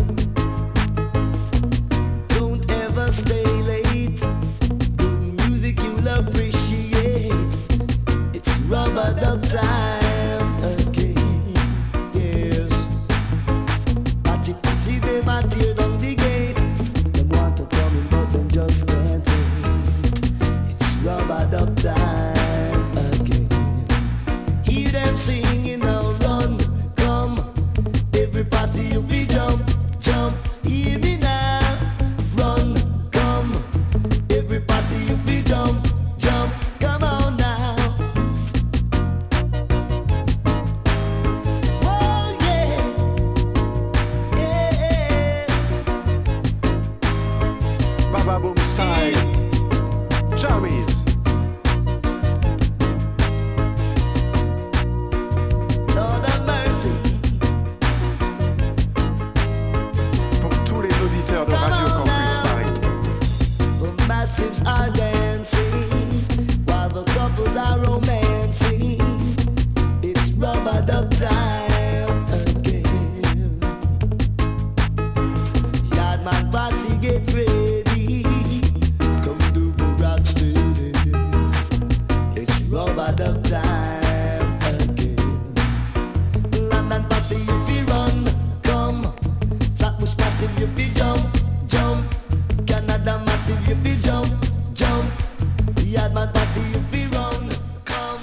Don't ever stay late. Good music you'll appreciate. It's rubber dub time again. Yes. Patchy patchy they might tear down the gate. Them want to come in but them just can't wait. It's rubber dub time again. Hear them singing now, run, come. Everybody you be jump, jump. Hear me now, run, come. Everybody you be jump, jump. Come on now. Oh yeah, yeah. Baba Boom style. Jammies. Lord have mercy. Pour tous les auditeurs de Radio Campus Paris. The massives are dancing while the couples are romancing. It's rubber dub time again. Yardman posse get ready. Come do the rock steady. It's rubber dub time again. London posse if you run, come. Flatbush massive if you jump, jump. Canada massive if you jump, jump. Yardman posse if you run, come.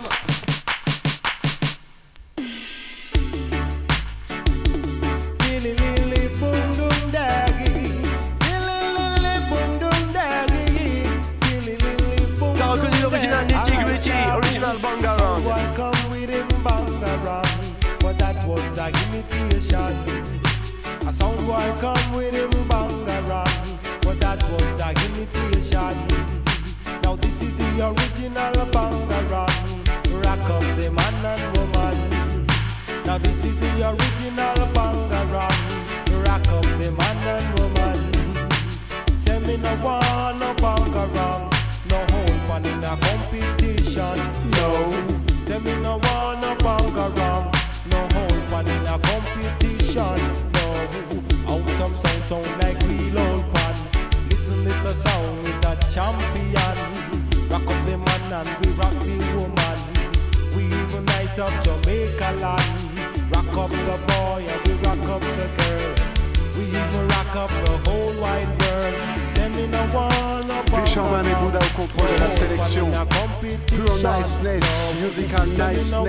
Lily lily boom boom daggy. Lily lily boom boom daggy. Lily lily boom. T'as reconnu l'original Nitty Gritty, original Bangarang. Someone come with him Bangarang, but that was a imitation. A sound boy come with him Bangarang, but that was a imitation. Now this is the original Bangarang, rock up the man and woman. Now this is the original Bangarang, rock up the man and woman. Say me no want no Bangarang, no hold man in a competition. No, say me no want no Bangarang, Jamaica land. Rock up the boy and we rock up the girl. We even rock up the whole wide world. Send me no one up. Fisherman et Bouddha au contrôle de la sélection. Pure niceness, musical niceness. No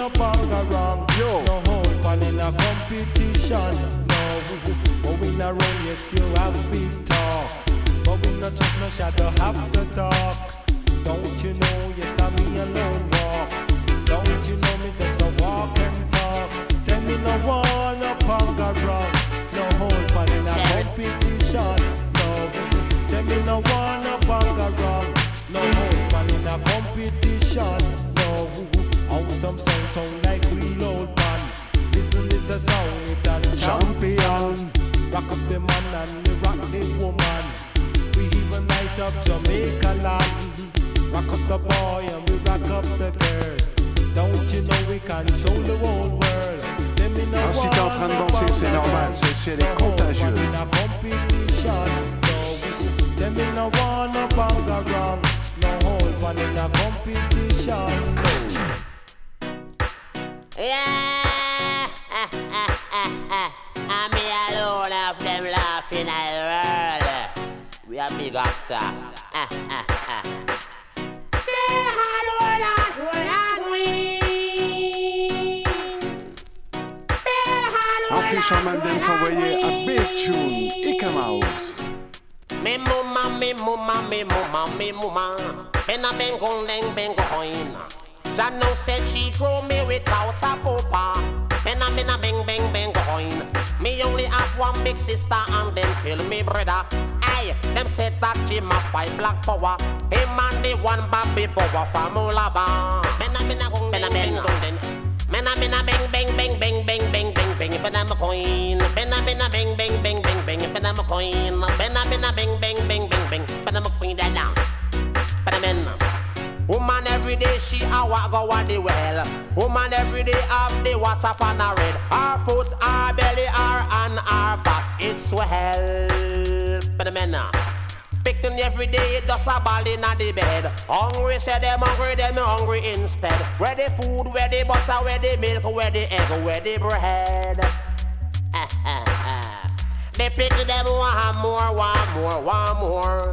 hold on in a competition. No, but we not run, yes, you have big talk. But we not just no shadow have to talk. Don't you know, yes, I'm me alone walk. Don't you know me just a walk and talk. Send me no one up on the rock. No hold on in a competition. No, send me no one up on the rock. No hold on in a competition. No, how some sound sound like real old man. Listen, this a sound with a champion. Rock up the man and we rock the woman. We even nice up Jamaica land. Rock up the boy and we rock up the girl. Don't you know we control the whole world? Send me no Ah, si t'es en train de danser, c'est normal, celle-ci elle est contagieuse. Send me no one up on the wrong. No whole one in a competition. Yeah, I'm me alone of them laughing at the world. We are big after. Un Fisherman vient d'envoyer un big tune, Ika Mouse. Me mama, me mama, me mama, me mama. Ben a ben gong deng ben coin. Jano says she grow me without a papa. Ben a ben a bang bang bang coin. Me only have one big sister and them kill me brother. Aye, them said that Jim a fight black power. Him and the one baby power from Olaba. Ben a ben a gong ben a ben gong deng. Ben a ben a bang bang bang bang bang bang bang bang. Ben a me coin. Ben a ben a bang bang bang bang bang. Ben a me coin. Ben a ben a bang bang bang bang bang. Ben a me coin that down. Ben a men. Woman every day she a walk go on the well. Woman every day have the water on her head. Her foot, her belly, her hand, her back. It's swell. But the men now. Picking every day, just a ball in the bed. Hungry, say them hungry, them hungry instead. Where the food, where the butter, where the milk, where the egg, where the bread. They pick them one more, one more, one more.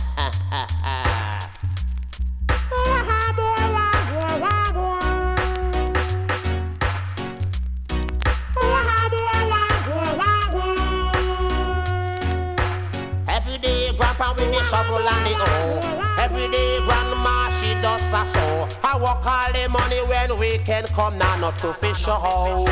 Every day, grandpa with the shovel and the hoe. Every day, grandma she does a sow. I work all the money when weekend come now, not to fish a hoe.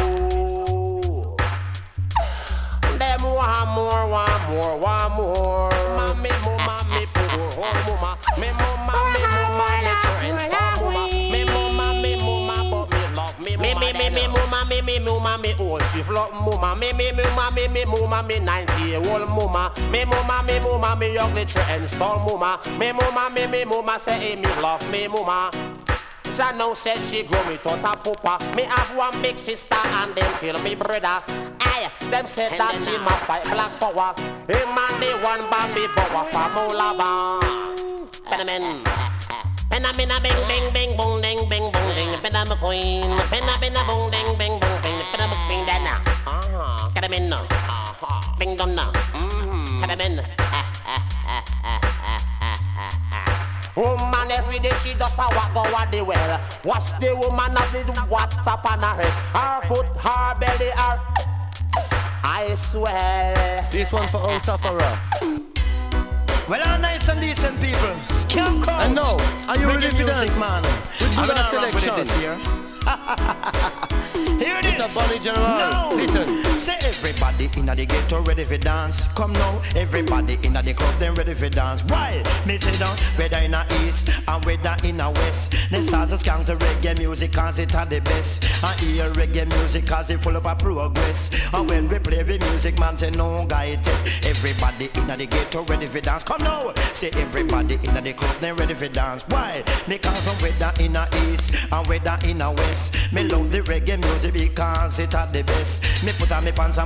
Them one more, one more, one more. Mommy, mama, me poor, oh mama, me mama, me mama, me trench, oh mama, me mama, me mama, but me love me, me me me me mama, me me mama, me old swift love mama, me me me mama, me me mama, me ninety year old mama, me mama, me mama, me ugly trench, oh mama, me mama, me me mama say hey, me love me mama. Jano says she grow me tot a papa. Me have one big sister and them kill me brother. Aye, them said that him a fight black power. Him and the one Bambi power from Olaba. Phenomen. Penna penna bing bing bing boom ding bing boom ding. Penna me queen. Penna penna boom ding bing boom bing. Penna me queen dana. Ah, phenomen. Ah, bing dong na. Hmm, phenomen. Woman every day she does a walk go at the well. Watch the woman of the water on her head. Her foot, her belly, her. I swear. This one for all sufferer. Well, I'm nice and decent people. Scam count. And now, are you ready for music, dance? man? With I'm Buddha gonna rock with it selection. this year. Here it is. Mister Bonnie General, now, listen. Say everybody inna the ghetto ready for dance. Come now, everybody inna the club them ready for dance. Why? Me say down whether inna east and whether inna west. Them start to skank to reggae music cause it are the best. And hear reggae music cause it full up of progress. And when we play the music man say no guy test. Everybody inna the ghetto ready for dance. Come now, say everybody inna the club them ready for dance. Why? Because I'm whether inna east and whether inna west. Me love the reggae music because it are the best. Me put on me pants and put on me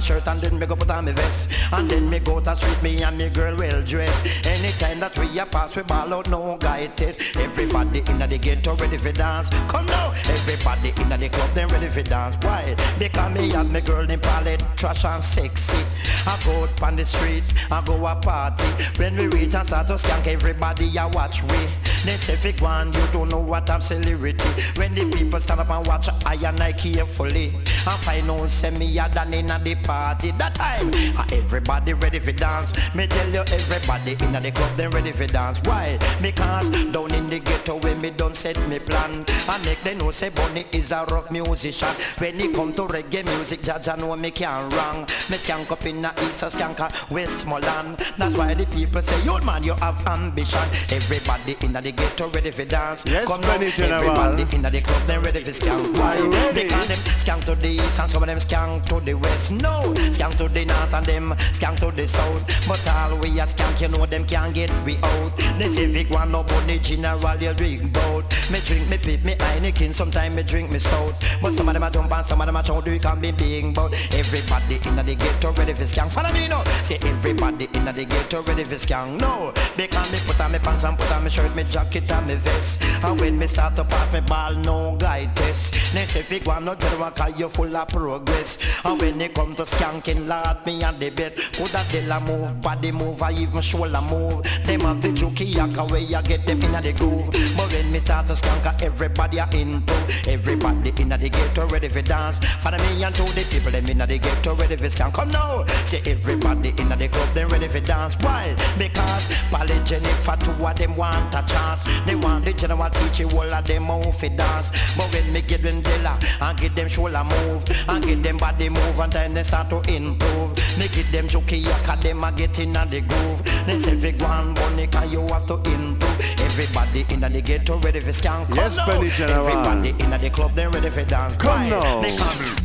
shirt and then me go put on me vest. And then me go to street, me and me girl well dressed. Anytime that we a pass, we ball out no guy test. Everybody in the ghetto ready for dance. Come now, everybody in the club them ready for dance. Why? Because me and me girl them palette trash and sexy. I go out on the street, I go a party. When we reach and start to skank, everybody a watch we. They say if one, you don't know what I'm celebrity. When the people stand up and watch, I and I carefully. I find out say me a done in the party. That time, everybody ready for dance. Me tell you, everybody in the club them ready for dance. Why? Because down in the ghetto when me done set me plan, I make them know say Bunny is a rock musician. When it come to reggae music, Jaja know me can't wrong. Me skank up in the east, I skank a Westmoreland. That's why the people say, yo man, you have ambition. Everybody in the ghetto ready for dance. Yes, come now, everybody in the club them ready for skank. Why? Because them skank to the east and some of them skank to the west. No, skank to the north and them skank to the south. But all we a skank, you know them can't get we out. The civic one no bunny general you drink bout. Me drink me pip, me Heineken, sometimes me drink me stout. But some of them a jump and some of them a shout, you can be big bout. Everybody in the ghetto ready for skank. Follow me now. Say everybody in the ghetto ready for skank. No, because me put on me pants and put on me shirt, me jacket and me vest. And when me start to pass me ball, no guy test. Next if you want no general, cause you full of progress. And when they come to skanking, Lord, me and the bed. Coulda tell a move, body move, or even shoulder move. Them have the jokey yaka where you get them in the groove. But when me start to skank, everybody are into. Everybody in the ghetto ready for dance. Follow me and to the people them in the ghetto ready for skank. Come now, say everybody in the club them ready for dance. Why? Because Polly Jennifer two of them want a chance. They want the general teacher all of them move for dance. But when me get them Della and get them shoulder move and get them body move and then they start to improve. Make it them jokey yaka them a get in the groove. They say if one bunny can you have to improve. Everybody in the ghetto ready for skank. Come yes, now. Everybody in the club them ready for dance. Come now. They come.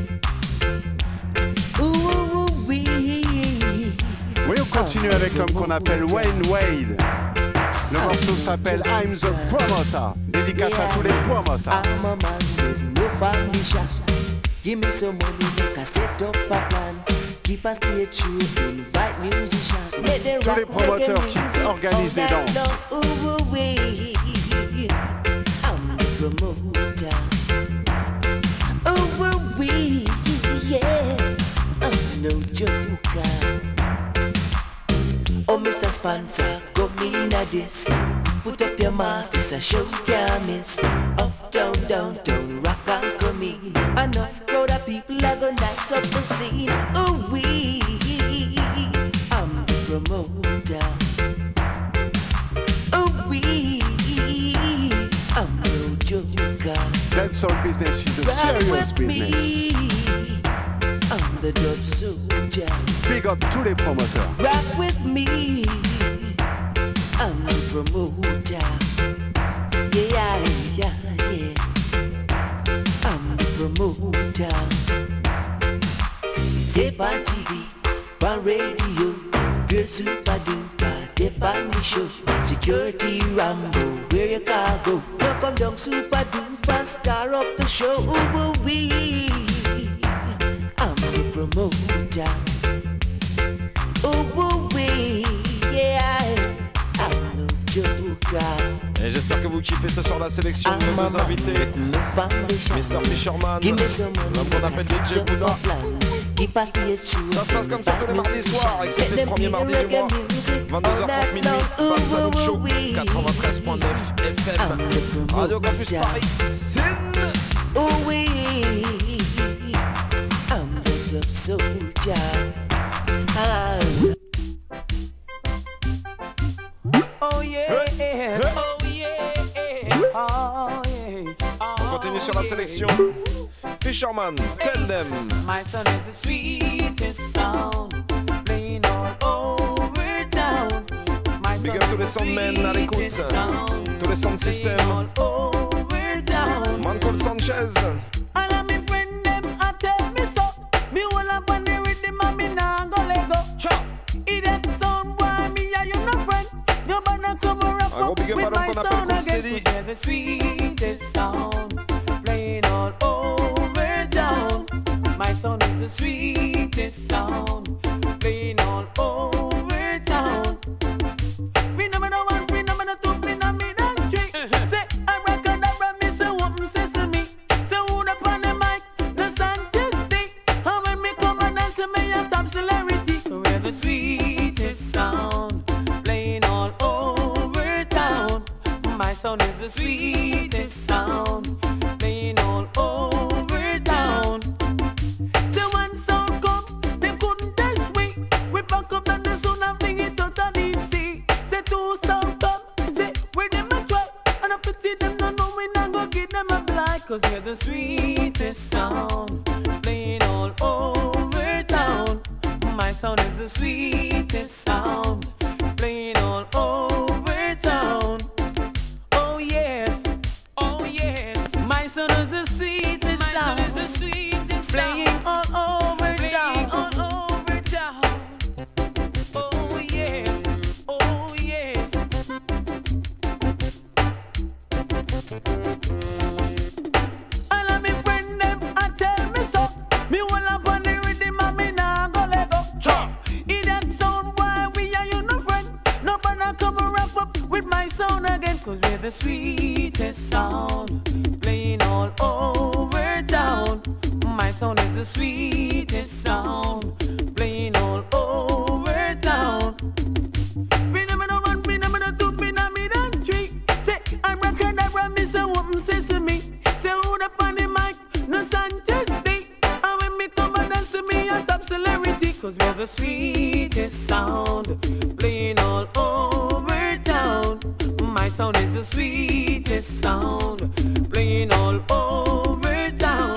Oui, on continue avec l'homme qu'on appelle Wayne Wade. Le morceau s'appelle I'm the Promoter. Dédicace à tous les promoters. I'm a man with no foundation. Give me some money, make I set up a plan. Keep a stage show, invite musicians. Let them tous les promoteurs qui organisent des danses. I'm the promoter. Oh, we, yeah. I'm no joker. Oh, Mister Sponsor, come in at this. Put up your mask, this a show can't miss. Up, down, downtown, rock and come in. Enough crowd of people are gonna nice up the scene. Oh, we, I'm the promoter. Oh, we, I'm no joker. That soul business is a serious business. Me. I'm the dub soldier. Big up tous les promoteurs. Rock with me. I'm the promoter. Yeah, yeah, yeah. I'm the promoter. Dip on T V, on radio, girl super duper, dip on the show. Security Rambo, where you can go? Now come down super duper, star up the show. Ooh, wee. I'm the promoter. Oh, oui, yeah, I'm no joker. Et j'espère que vous kiffez ce soir la sélection de nos deux invités. mister Fisherman, l'homme qu'on appelle D J Bouddha. Ça se passe comme ça tous les mardis soirs, excepté le premier mardi du mois. vingt-deux heures trente minuit, Bam Salut Show, quatre-vingt-treize point neuf F M. Radio Campus Paris, Sin. Oh oui, I'm the top soldier. Ah. Oh yeah, hey, hey. oh yeah, oh yeah. On continue sur la sélection. Fisherman, tell them. My son is the sweetest sound, playing all over town. Big up tous les soundmen à l'écoute, tous les sound systems. Manco Sanchez. All of me friend them a tell me so. Me hold up on the rhythm and me nah go let go. Idiot sound boy, me and you no friend. You better come around up with my sound again. We're the sweetest sound, playing all over town. My sound is the sweetest sound, playing all over town. Phenomenal one, phenomenal two, phenomenal three. Say abracadabra, me say whoopin' sesame. Say who the on the mic, the scientist. And when me come and dance, me a top celebrity. We're the sweetest sound, playing all over town. My sound is the sweetest sound, playing all over town. So one sound come, they couldn't touch me. We pack up and the sound and bring it out of deep sea. Say two sound come, say where them a try. And I pity them, no know we not go give them a blind. Cause we're the sweetest sound, playing all over town. My sound is the sweetest sound, playing all over town. Oh yes, oh yes. My sound is the sweetest My sound, is the sweetest playing sound. all over playing town, all over town. Oh yes, oh yes. I love me friend them, I tell me so. Me will have on the rhythm and me nah go let go. In that sound, why we are you no friend? Nobody come and wrap up with my sound again. Cause we're the sweetest sound, playing all over town. My sound is the sweetest sound, playing all over town. Phenomenal one, phenomenal two, phenomenal three. Say I'm rockin' that me say whoopin' sesame. Say who the on the mic, no scientist. And when me come and dance to me, I top celebrity. Cause we're the sweetest sound, playing all over town. My sound is the sweetest sound, playing all over town.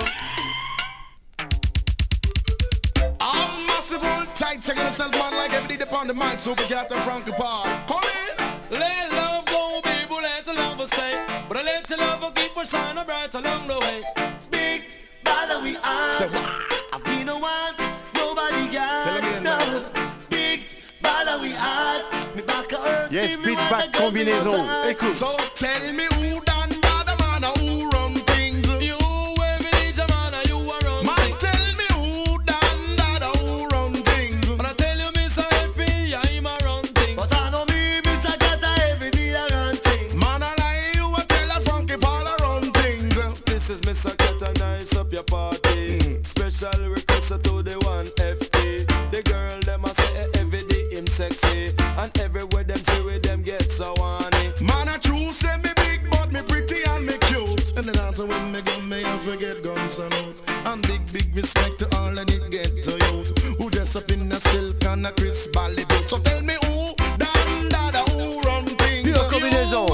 I'm massive old tight, checking yourself man like every day upon the mic, so we got the Frankie Park. Come in! Let love go, baby, let the love stay. But I let the love keep us shining bright along the way. Big bother we are. So, We don't want nobody got no. Big bother we are. Me back to earth. Yes, give me beat what back I got, me combinaison. want to Écoute. So tell me who done bad man or who run things. You every ninja man and you are run Man, things. tell me who done that or who run things. And I tell you, Mister Effie, I'm a run things. But I know me, Mister Kata, every day I run things. Man, I lie you a tell a Frankie Paul a run things. This is Mister Kata, nice up your party. Mm. Special request to the one F P. The girl them a say every day him sexy, and everywhere them see with them get so horny. Man, I true say me big, but me pretty and me cute. And then after when me gun, me I forget guns and out. And big, big respect to all of the ghetto youth who dress up in a silk and a crisp ballet boot. So tell me who done that or who run things. Pure combinaison.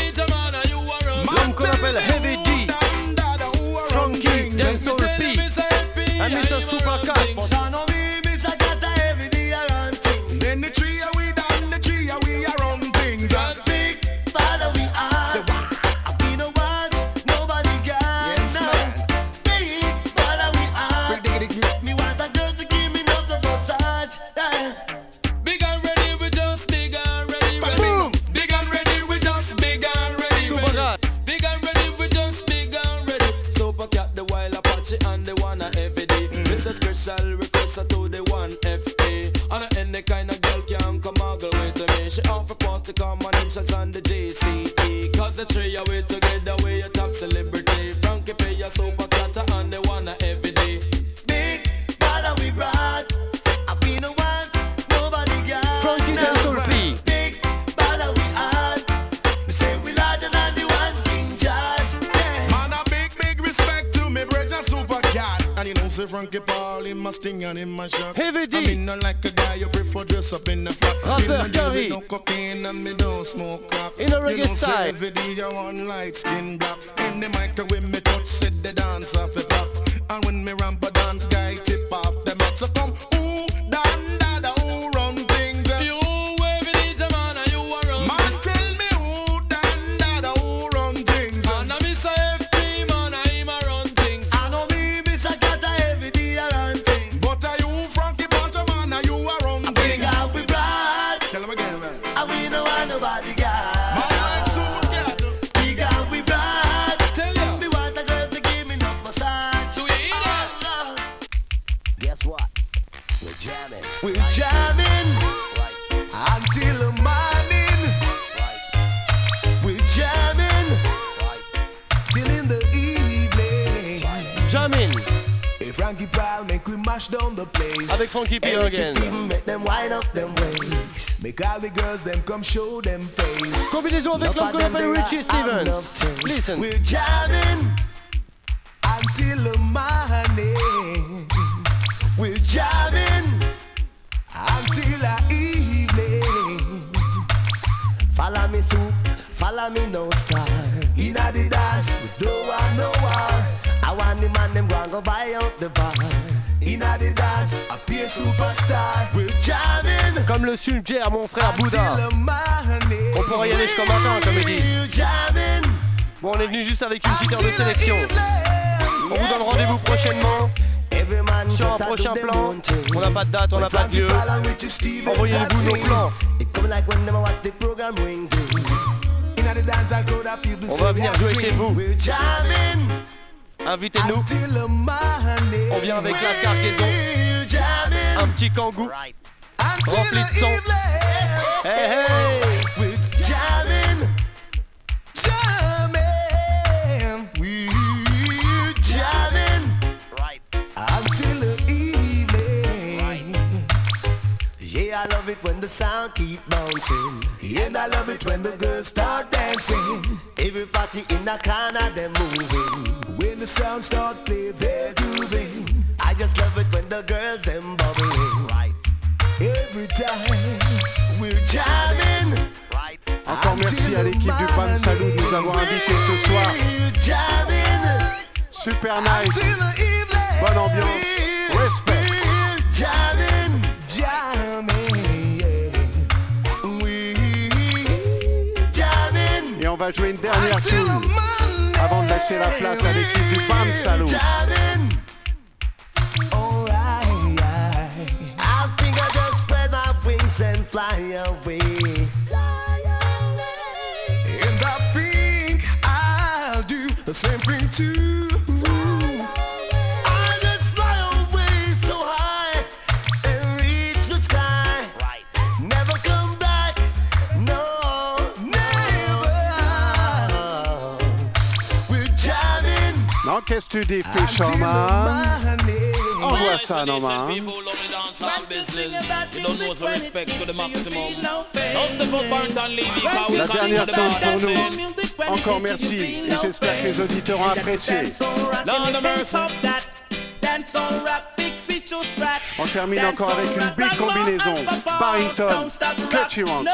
L'homme qu'on appelle Heavy D, Frankie, Dancehall P, and Mister Super Cat. But I know me, Mister Kata, every day I run things. Then the tree are we done, the tree are we are run things. Big father we are. We don't want nobody got no. Big father we are. Me want a girl to give me enough of massage. Yeah. Big and ready, we just big and ready, ready. Big and ready, we just big and ready, Super ready. Cat. Big and ready, we just big and ready. Super Cat, the wild Apache and the one a every day. This a special request to the one F A. And any kind of girl can come ogle with me. She offer pass the combinations on the J C E. Cause the three of we together, we a top celebrity. Frankie Pay, a Super Cat and the one a every day. Big father we brought. We don't want nobody got Frankie no. Dancehall P. Big father we are. We say we larger than the one King George. Yes. Man, a big, big respect to me brother Super Cat. And you know say Frankie Paul in my sting and in my shot. Heavy D. I mean not like a guy you prefer dress up in the flat. Rapper Me no deal Curry. with no cocaine and me don't smoke crack. In a You reggae know say style. every day you want light skin black. In the microwave me touch set the dance off the back. And when me ramp a dance guy tip off the mat. So come who done that who run things. You every ninja man and you are run Man tell me who done that who run things. and a Mister F P man, I'm a run things. I know me, Mister Kata, every day I run things. But are you Frankie Pancho man and you are run Big things. and we brought. Tell him again man. And we don't want nobody got. Man like Super Cat. Big and we brought. Tell ya. Me want a girl to give me enough massage. Do you hear that? Oh, We're jamming until the morning. We're jamming till in the evening. Jamming. Hey, Frankie Pal, make we mash down the place. Avec Frankie P again. Make them wind up them waist. Make all the girls them come show them face. Combinaison avec l'homme qu'on appelle Richie Stevens. Listen. We're jamming until the morning. We're jamming until the evening. Follow me soup, follow me no star. Inna the dance, we don't want no war. I want the man them go and go buy out the bar. Inna the dance, I be a superstar. We're jamming. Comme le suggère mon frère Bouddha. On pourrait y aller jusqu'au matin, comme il dit. Bon, on est venu juste avec une petite heure de sélection. On vous donne rendez-vous prochainement sur un prochain plan. On n'a pas de date, on n'a pas de lieu. Envoyez-vous nos plans. On va venir jouer chez vous. Invitez-nous. On vient avec la cargaison. Un petit kangou rempli de son. Hey hey! We're jamming, jamming, we're jamming, right until the evening. Right. Yeah, I love it when the sound keep bouncing, and I love it when the girls start dancing. Everybody in the corner them moving. When the sound start play, they're grooving. I just love it when the girls them bubbling. Right. Every time we're jamming. Encore merci à l'équipe du Bam Salut de nous avoir invités ce soir. Super nice. Bonne ambiance. Respect. Jamming, jamming, jamming. Et on va jouer une dernière tune avant de laisser la place à l'équipe du Bam Salut. And fly away. Fly away. And I think I'll do the same thing too. I'll just fly away so high and reach the sky. Right. Never come back. No, never. We're jamming. Non, qu'est-ce que tu dis, Fisherman? Envoie ça, Norma. La dernière tune pour nous. Encore merci et j'espère que les auditeurs ont apprécié. On termine encore avec une big combinaison. Barrington, Cutchy Ranks.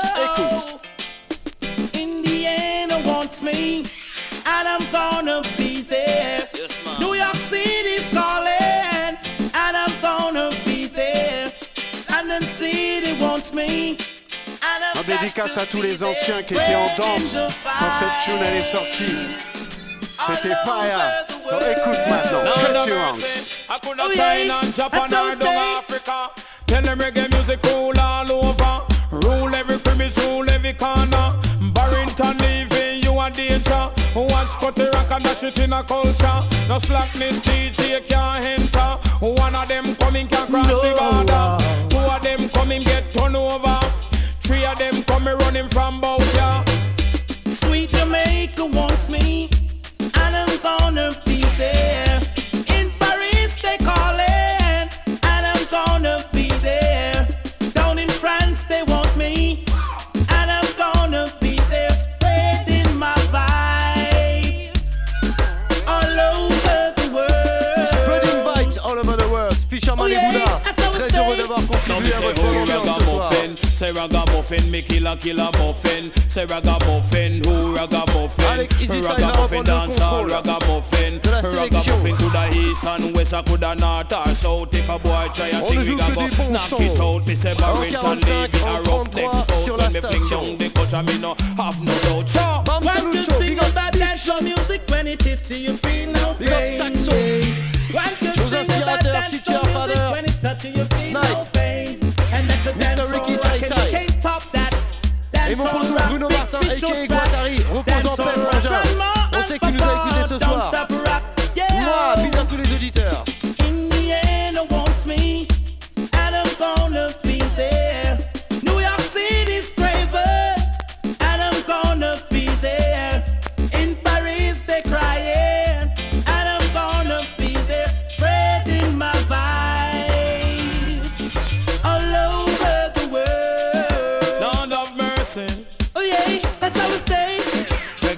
Écoute. Indiana wants me, and I'm gonna be there. New York City's calling, and I'm gonna be there. London City wants me. En dédicace à tous les anciens qui étaient en danse quand cette tune elle est sortie. C'était fire. Donc écoute maintenant, Cutchy Ranks. Hakuna China, Japan or Down Africa. Tell them reggae music rule all over. Rule every premise, rule every corner. Barrington leaving, you a danger. Watch Scotty Rock and dash it in a culture. No slackness, D J can't enter. One of them coming can cross the border. Two of them coming get turned over. Three of them coming running from bout ya. Sweet Jamaica wants me, and I'm gonna be there. In Paris they calling, and I'm gonna be there. Down in France they want me, and I'm gonna be there. Spreading my vibe all over the world. Spreading vibes all over the world. Fisherman et Bouddha, très heureux d'avoir contribué à votre ambiance ce soir. Say ragamuffin, me kill a killer muffin. Say ragamuffin, who ragamuffin? Ragamuffin dance all ragamuffin. Ragamuffin to the east and west, I could the north or south. If a boy try a thing, we got go knock it out. Me say Barrington leave it a rough next out. When me fling down the culture, me no have no doubt. So, one good thing about dancehall music, when it hits you, you feel no pain. One good thing about dancehall music, when it touches you, feel no pain. And that's a dancehall rock, and you can't top that. Et mon poteau Bruno Martin, a k a. Guattari, repose en paix frangin. On sait qu'il nous a écouté ce soir. Moi, bisous à tous les auditeurs. Indiana wants me, and I'm gonna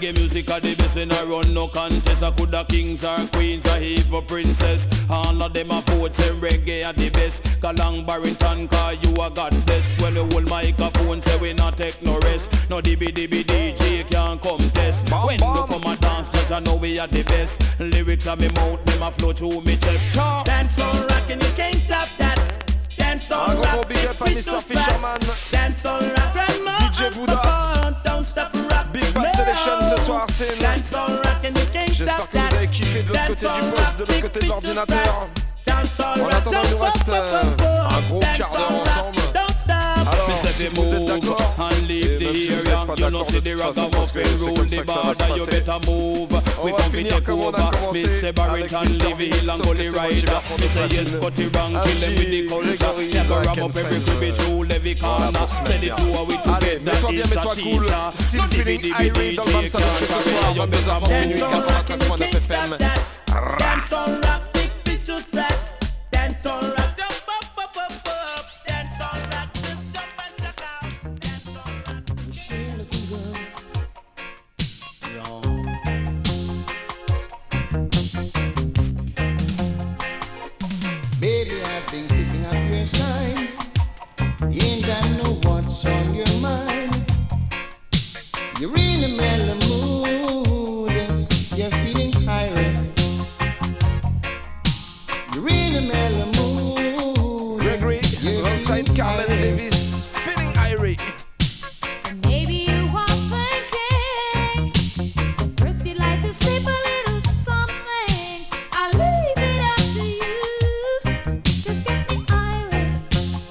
reggae music are the best in a run no contest. I coulda kings or queens or even princess. All of them a vote say reggae are the best. Kalang Barrington call you a goddess. When you hold microphone say we not take no rest. No D B D B D J can't come test. When you come a dance just I know we are the best. Lyrics on me mouth them a flow through me chest. Dance on rock and you can't stop that. Dance on Un rock, gros big up à mister Fisherman, dance on rock, grandma, D J Bouddha. don't stop rock. Big Bad Selection ce soir, c'est Dance on rock and you can't J'espère stop que vous that. avez kiffé de l'autre côté du poste, de l'autre côté de l'ordinateur. En attendant, il nous reste euh, un gros quart d'heure ensemble. Alors, si vous êtes d'accord, et même si vous n'êtes pas d'accord, de toute façon, parce que c'est comme ça que ça va se passer. On va finir comme on a commencé avec mister V, sauf que c'est moi qui vais reprendre le platine. Un petit Grégory Isaac and Friends. Voilà, pour se mettre bien. Allez, mets-toi bien, mets-toi cool. Still feeling irate dans le Bam Salut Show ce soir, vingt-deux heures trente minuit, quatre-vingt-treize point neuf F M. Dance on rock, big bitch flat. Dance on rock, jump up, up, up, up. Dance on rock, just jump and check out. Dance on rock. Michelle looking good. Baby, I've been picking up your signs. And I know what's on your mind. You're in a mellow mood. You're feeling irate. You're in a mellow mood. Gregory, alongside Carmen Davis, feeling irate. Maybe you are thinking, first you'd like to sleep a little something. I'll leave it up to you. Just get me irate.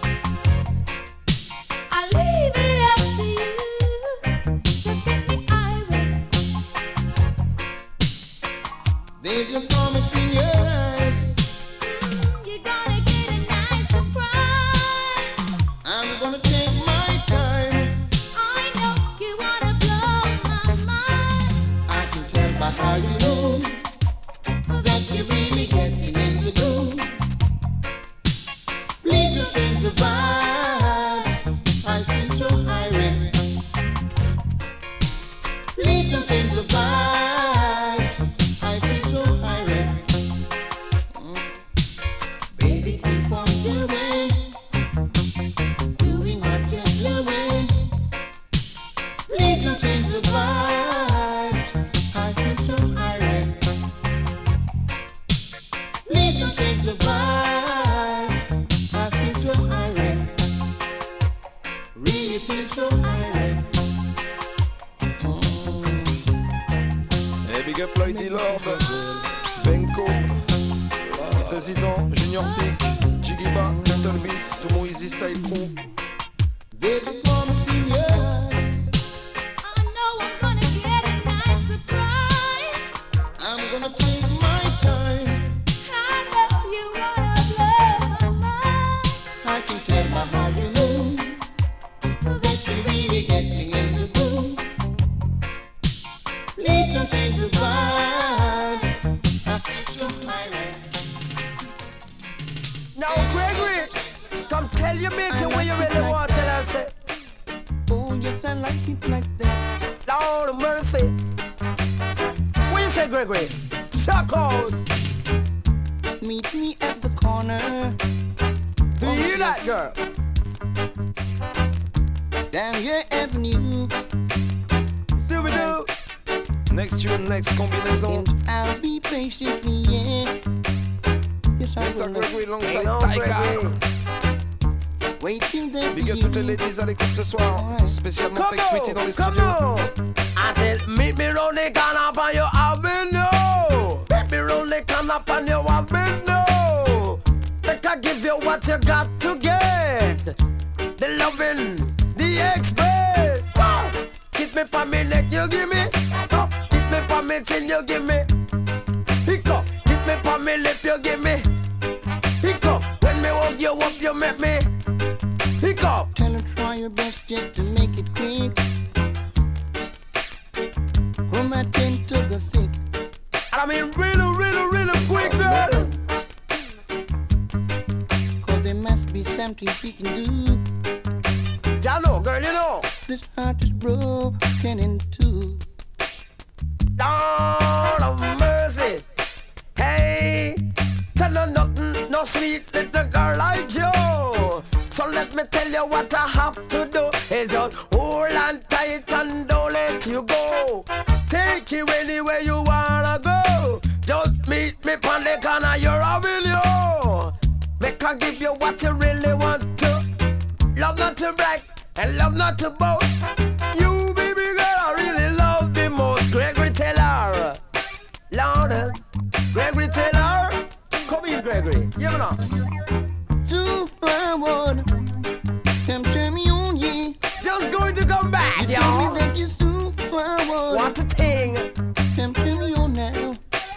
I'll leave it up to you. Just get me irate. There's a promise in your eyes. Mm, you're gonna get a nice surprise. I'm gonna take my time. I know you wanna blow my mind. I can tell by how you move that you're really getting in the groove. Please don't change the vibe. I feel so irate. Please don't change the vibe. I feel so irate. Mm. Baby, keep on doing, doing what you're doing. Please don't change the vibe. I feel so irate. Please don't change the vibe. I feel so irate. Really feel so irate. Et big up Lloyd Lord, Benko, Président, Junior Peak, Jigiba, Little Bit, tout mon Easy Style Crew. Baby, promise in your eyes. I know I'm gonna get a nice surprise. I'm gonna take my time. I know you wanna blow my mind. I can tell by how you move that you're really getting in the groove. Please don't change the vibe. I feel so irate. Now, Gregory, come tell your mate what you really want. Tell her, say, oh, yes, I like it like that. Lord mercy. What you say, Gregory? Chuck out. Meet me at the corner. Do you hear that, girl? Down your avenue. See we do. Next tune, next combinaison. And I'll be patiently, yeah. Yes, I mister will. Gregory alongside Hang on, Tiger. Gregory. Waiting there Big for up you. toutes les ladies à l'écoute ce soir, spécialement Come Flex Sweetie on, dans les come studios. on. I tell, meet me round the corner on your avenue. Meet me round the corner on your avenue. Think I give you what you got to get. The loving, the expert. Wow. Hit me for me neck, you give me. Oh. Hit me for me chin, you give me. Hiccup. Hit me for me lip, you give me. Hiccup. When me hug you up, you make me. Hiccup. Tell her try your best just to make it quick. From my ten to the sick. I mean, really, really, really quick, girl. Cause there must be something she can do. Ya know, girl, you know. This heart is broken in two. Lord of mercy. Hey, tell her nothing, no sweet little girl like you. So let me tell you what I have to do. Is just hold on tight and don't let you go. Take you anywhere you wanna go. Just meet me on the corner, you're a will you. Make her give you what you really want to. Love not to brag and love not to boast. You baby girl I really love the most. Gregory Taylor, Lord, Gregory Taylor. Come in, Gregory, you know. Superwoman, come turn me on, yeah. Just going to come back, you y'all. Tell me that you're superwoman. What a thing. Come turn me on now.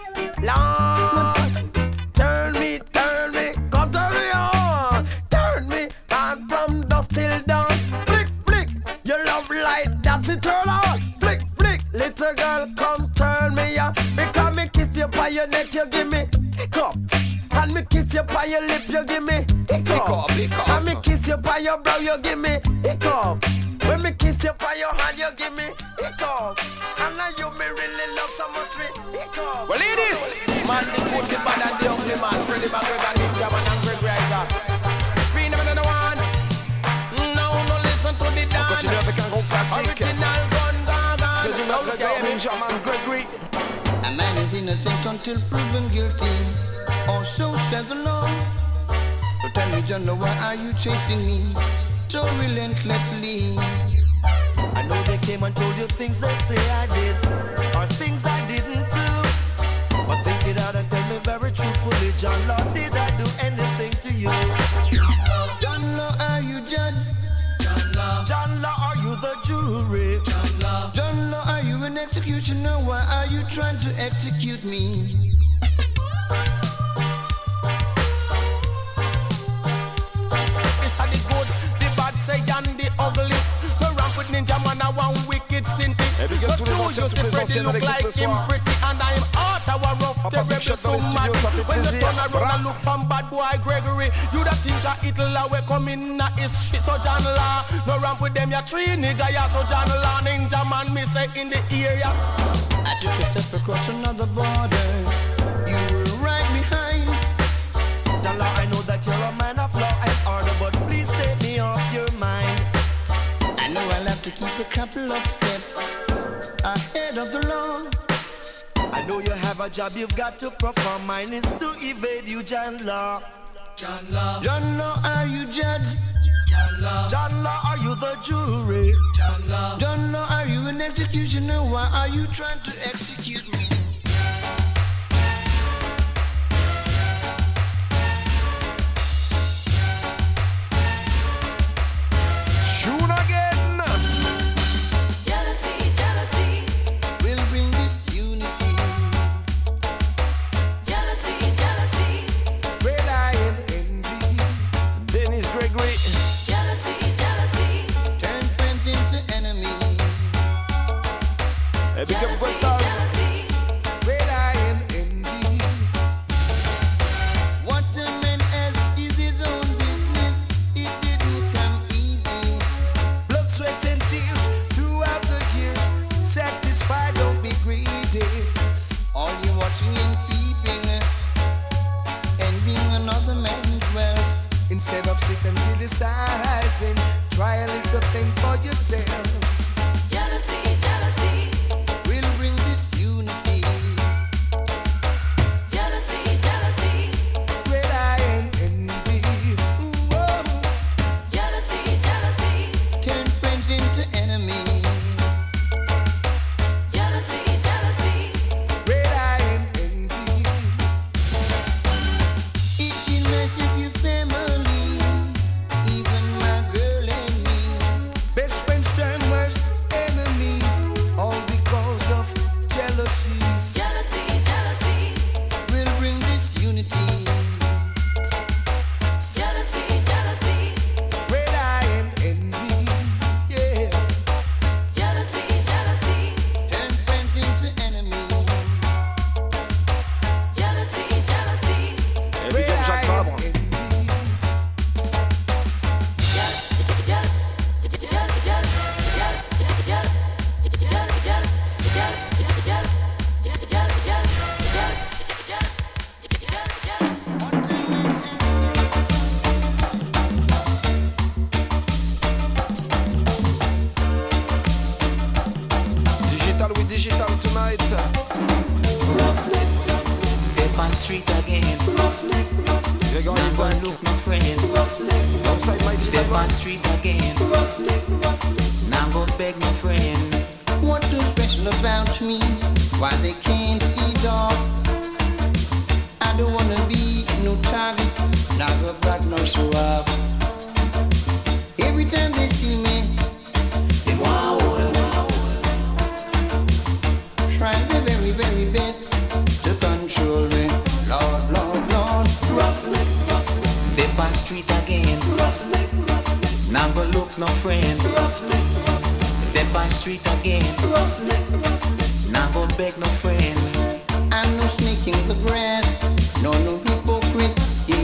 Lord, turn me, turn me, come turn me on. Turn me on from dusk till dawn. Flick, flick, your love light, that's it, turn on. Flick, flick, little girl, come turn me on. Because me kiss you by your neck, you give me hiccup. And me kiss you by your lip, you give me hiccup. And me kiss you by your brow, you give me hiccup. When me kiss you by your hand, you give me hiccup. And now you me really love so much me hiccup. Well, ladies, man, the good, the bad, and the ugly man. Freddie McGregor, Ninja Man, and Greg Riser. Free them another one. Now, no listen to the dance. Continue avec un gros classique. Original gun, gun, gun. Freddie McGregor, Ninja Man, Gregory. A man is innocent until proven guilty. Or so says the law. So tell me, John, why are you chasing me so relentlessly? I know they came and told you things they say I did, or things I didn't do. But think it out and tell me very truthfully, John Law, did I do anything to you? John Law, are you judge? John Law, John Law, are you the jury? John Law, John Law, are you an executioner? Why are you trying to execute me? This are the good, the bad, say, and the ugly. The ramp with Ninja Man, I want wicked sin thing. Et big up tous les anciens, toutes les anciennes avec nous ce soir. And I'm out our rough, terrible, so mad. When you turn around and look from bad boy Gregory, you da think a Hitler will come in na his shit. So John Law, no ramp with them, ya three nigga, ya. So John Law, Ninja Man, me say in the area. I took a step across another border. You were right behind. John Law, I know that you're a man of law and order, but please take me off your mind. I know I'll have to keep a couple of steps ahead of the law. I know you have a job you've got to perform. Mine is to evade you, John Law. John Law, John Law, are you judge? John Law, John Law, are you the jury? John Law, John Law, are you an executioner? Why are you trying to execute me? Tune again. Jealousy, jealousy. We'll bring this unity. Jealousy, jealousy. Red eye and envy. Dennis Gregory. Jealousy, jealousy. Turn friends into enemies. Et big up Jealousy, Guettaz. jealousy. Red eye and envy. What a man has is his own business. It didn't come easy. Blood, sweat, and tears throughout the years. Satisfied, don't be greedy. All you watching and peeping, envying another man's wealth. Instead of sitting and criticizing, try a little thing for yourself. Jealousy, jealousy. We'll bring this unity. Jealousy, jealousy. Red eye and envy. Whoa. Jealousy, jealousy. Turn friends into enemies. Jealousy, jealousy. Red eye and envy. It can mess up your family, even my girl and me. Best friends turn Isaac. Alongside Mighty Devils. Now go beg my friend. What's so special about me? Why they can't eat off? I don't wanna be no target. Now go back no show up. Every time they see me, they wow, wow. Trying their very, very best to control me. Lord, Lord, Lord. Roughneck, roughneck. They pass street again. Roughneck, roughneck. Now go look no friend. Roughneck, roughneck. They pass street again. Roughneck, roughneck. Now go beg no friend. I'm no snake in the grass. No, no hypocrite.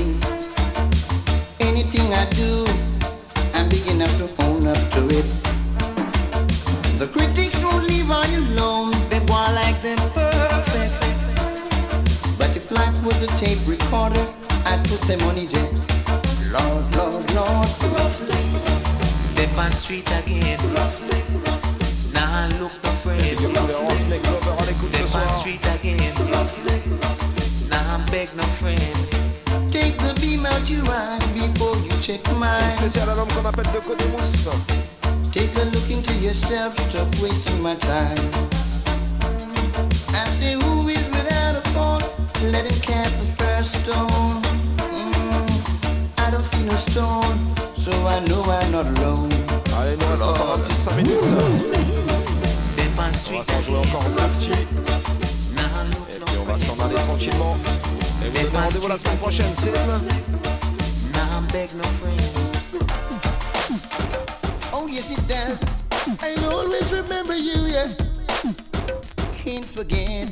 Anything I do, I'm big enough to own up to it. The critics won't leave I alone. They want like them perfect. But if life was a tape recorder, I'd put them on E J. Lord, Lord, Lord. They pass street again. Now I look the friend. They pass street again. Now I'm beg no friend. Take the beam out your eye before you check mine. Spécial à l'homme qu'on appelle de Codemousse. Take a look into yourself, stop wasting my time. I say who is without a fault, let him cast the first stone. Mm, I don't see no stone, so I know I'm not alone. Allez, il nous reste encore un petit cinq minutes. On va s'en jouer encore un petit. Et puis on va s'en aller tranquillement. Et vous donnez rendez-vous la semaine prochaine, c'est oh yes it does. I'll always remember you, yeah. Can't forget.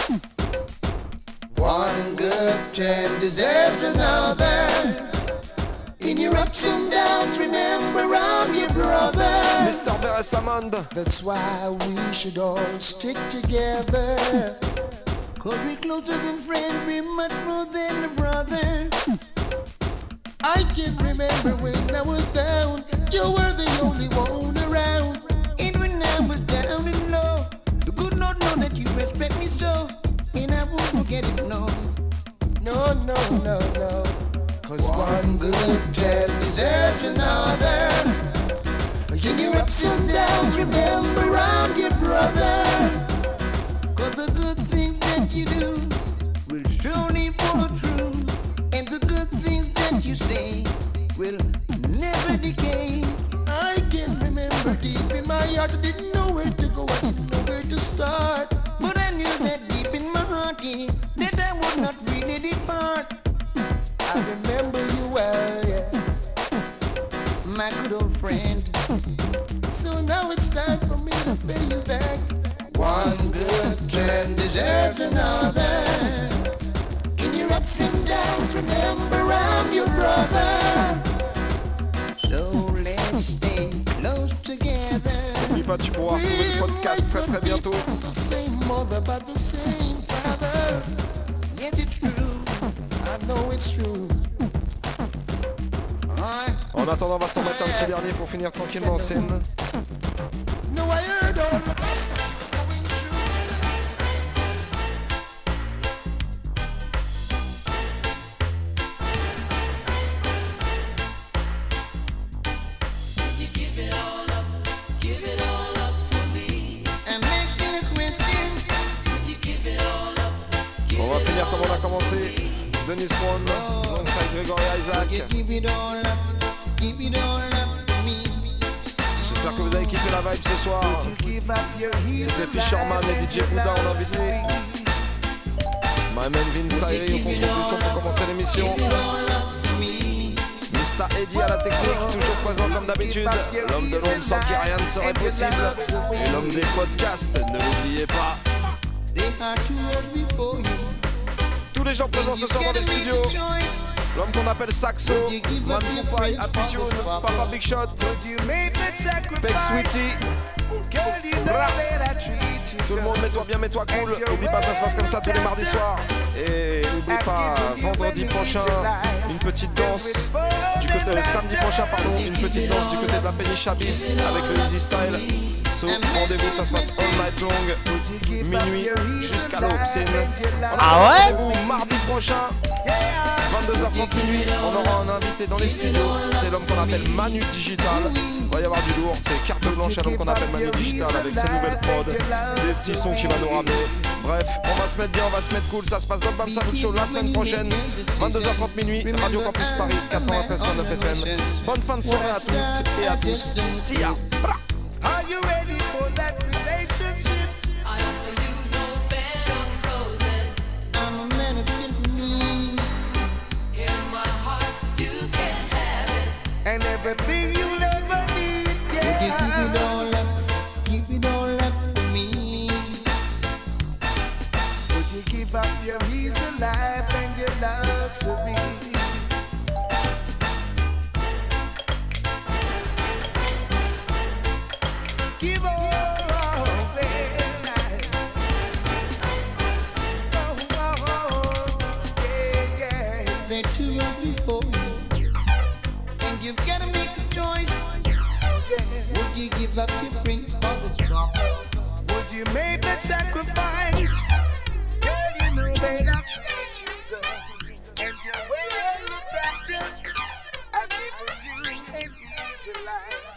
One good turn deserves another. In your ups and downs, remember I'm your brother. Mister Beresamand. That's why we should all stick together. Cause we're closer than friends, we're much more than a brother. I can remember when I was down, you were the only one around. And when I was down and low, the good Lord know that you respect me so. And I won't forget it, no. No, no, no, no. Cause one good turn deserves another. In your ups and downs, remember I'm your brother. Cause the good things that you do will surely follow through. And the good things that you say will never decay. I can remember deep in my heart, I didn't know where to go, I didn't know where to start. But I knew that deep in my heart, yeah, that I would not really depart. I remember you well, yeah, my good old friend. So now it's time for me to pay you back. One good turn deserves another. In your ups and downs, remember I'm your brother. So let's stay close together. N'oublie pas, tu pourras retrouver le podcast très très bientôt. The same mother, but the same father. Yes, it's true. I know it's true. En attendant, on va s'en mettre un petit dernier pour finir tranquillement en scène. No, I heard all the on va finir comme on a commencé. Dennis Ron, alongside Gregory Isaac. J'espère que vous avez kiffé la vibe ce soir. C'était Fisherman et D J Bouddha en invité. My man Vince Ayri au contrôle du son pour commencer l'émission. Mister Eddie à la technique, toujours présent comme d'habitude. L'homme de l'ombre sans qui rien ne serait possible. Et l'homme des podcasts, ne l'oubliez pas. Tous les gens présents ce soir dans les studios. L'homme qu'on appelle Saxo, Man Poupaille, Happy Tune, Papa Big Shot, Peg Sweetie. Tout le monde, mets-toi bien, mets-toi cool. N'oublie pas, ça se passe comme ça tous les mardis soirs. Et n'oublie pas, vendredi prochain, une petite danse du côté, euh, samedi prochain, pardon, une petite danse du côté de la Péniche Abyss avec le Easy Style. So, rendez-vous, ça se passe all night long, minuit jusqu'à l'aube. C'est une... Ah ouais? Rendez-vous mardi prochain, vingt-deux heures trente minuit, on aura un invité dans les studios. C'est l'homme qu'on appelle Manu Digital. Il va y avoir du lourd, c'est carte blanche à l'homme qu'on appelle Manu Digital avec ses nouvelles prods, des petits sons qui va nous ramener. Bref, on va se mettre bien, on va se mettre cool. Ça se passe dans le Bam Salut Show la semaine prochaine, vingt-deux heures trente minuit, Radio Campus Paris quatre-vingt-treize point neuf F M. Bonne fin de soirée à toutes et à tous. See ya. Are you ready for that relationship? I offer you no bed of roses. I'm a man of me. Here's my heart, you can have it. And everything you'll ever need, yeah. Would you give it all up, give it all up for me? Would you give up your easy life and your love for me? Give all away. Oh, oh, oh, yeah, yeah. They're too rough before you, and you've got to make a choice. Yeah. Would you give up your drink for the straw? Would you make that sacrifice? Girl, you know that I've treated you good, and your way I look after, I've given you an easy life.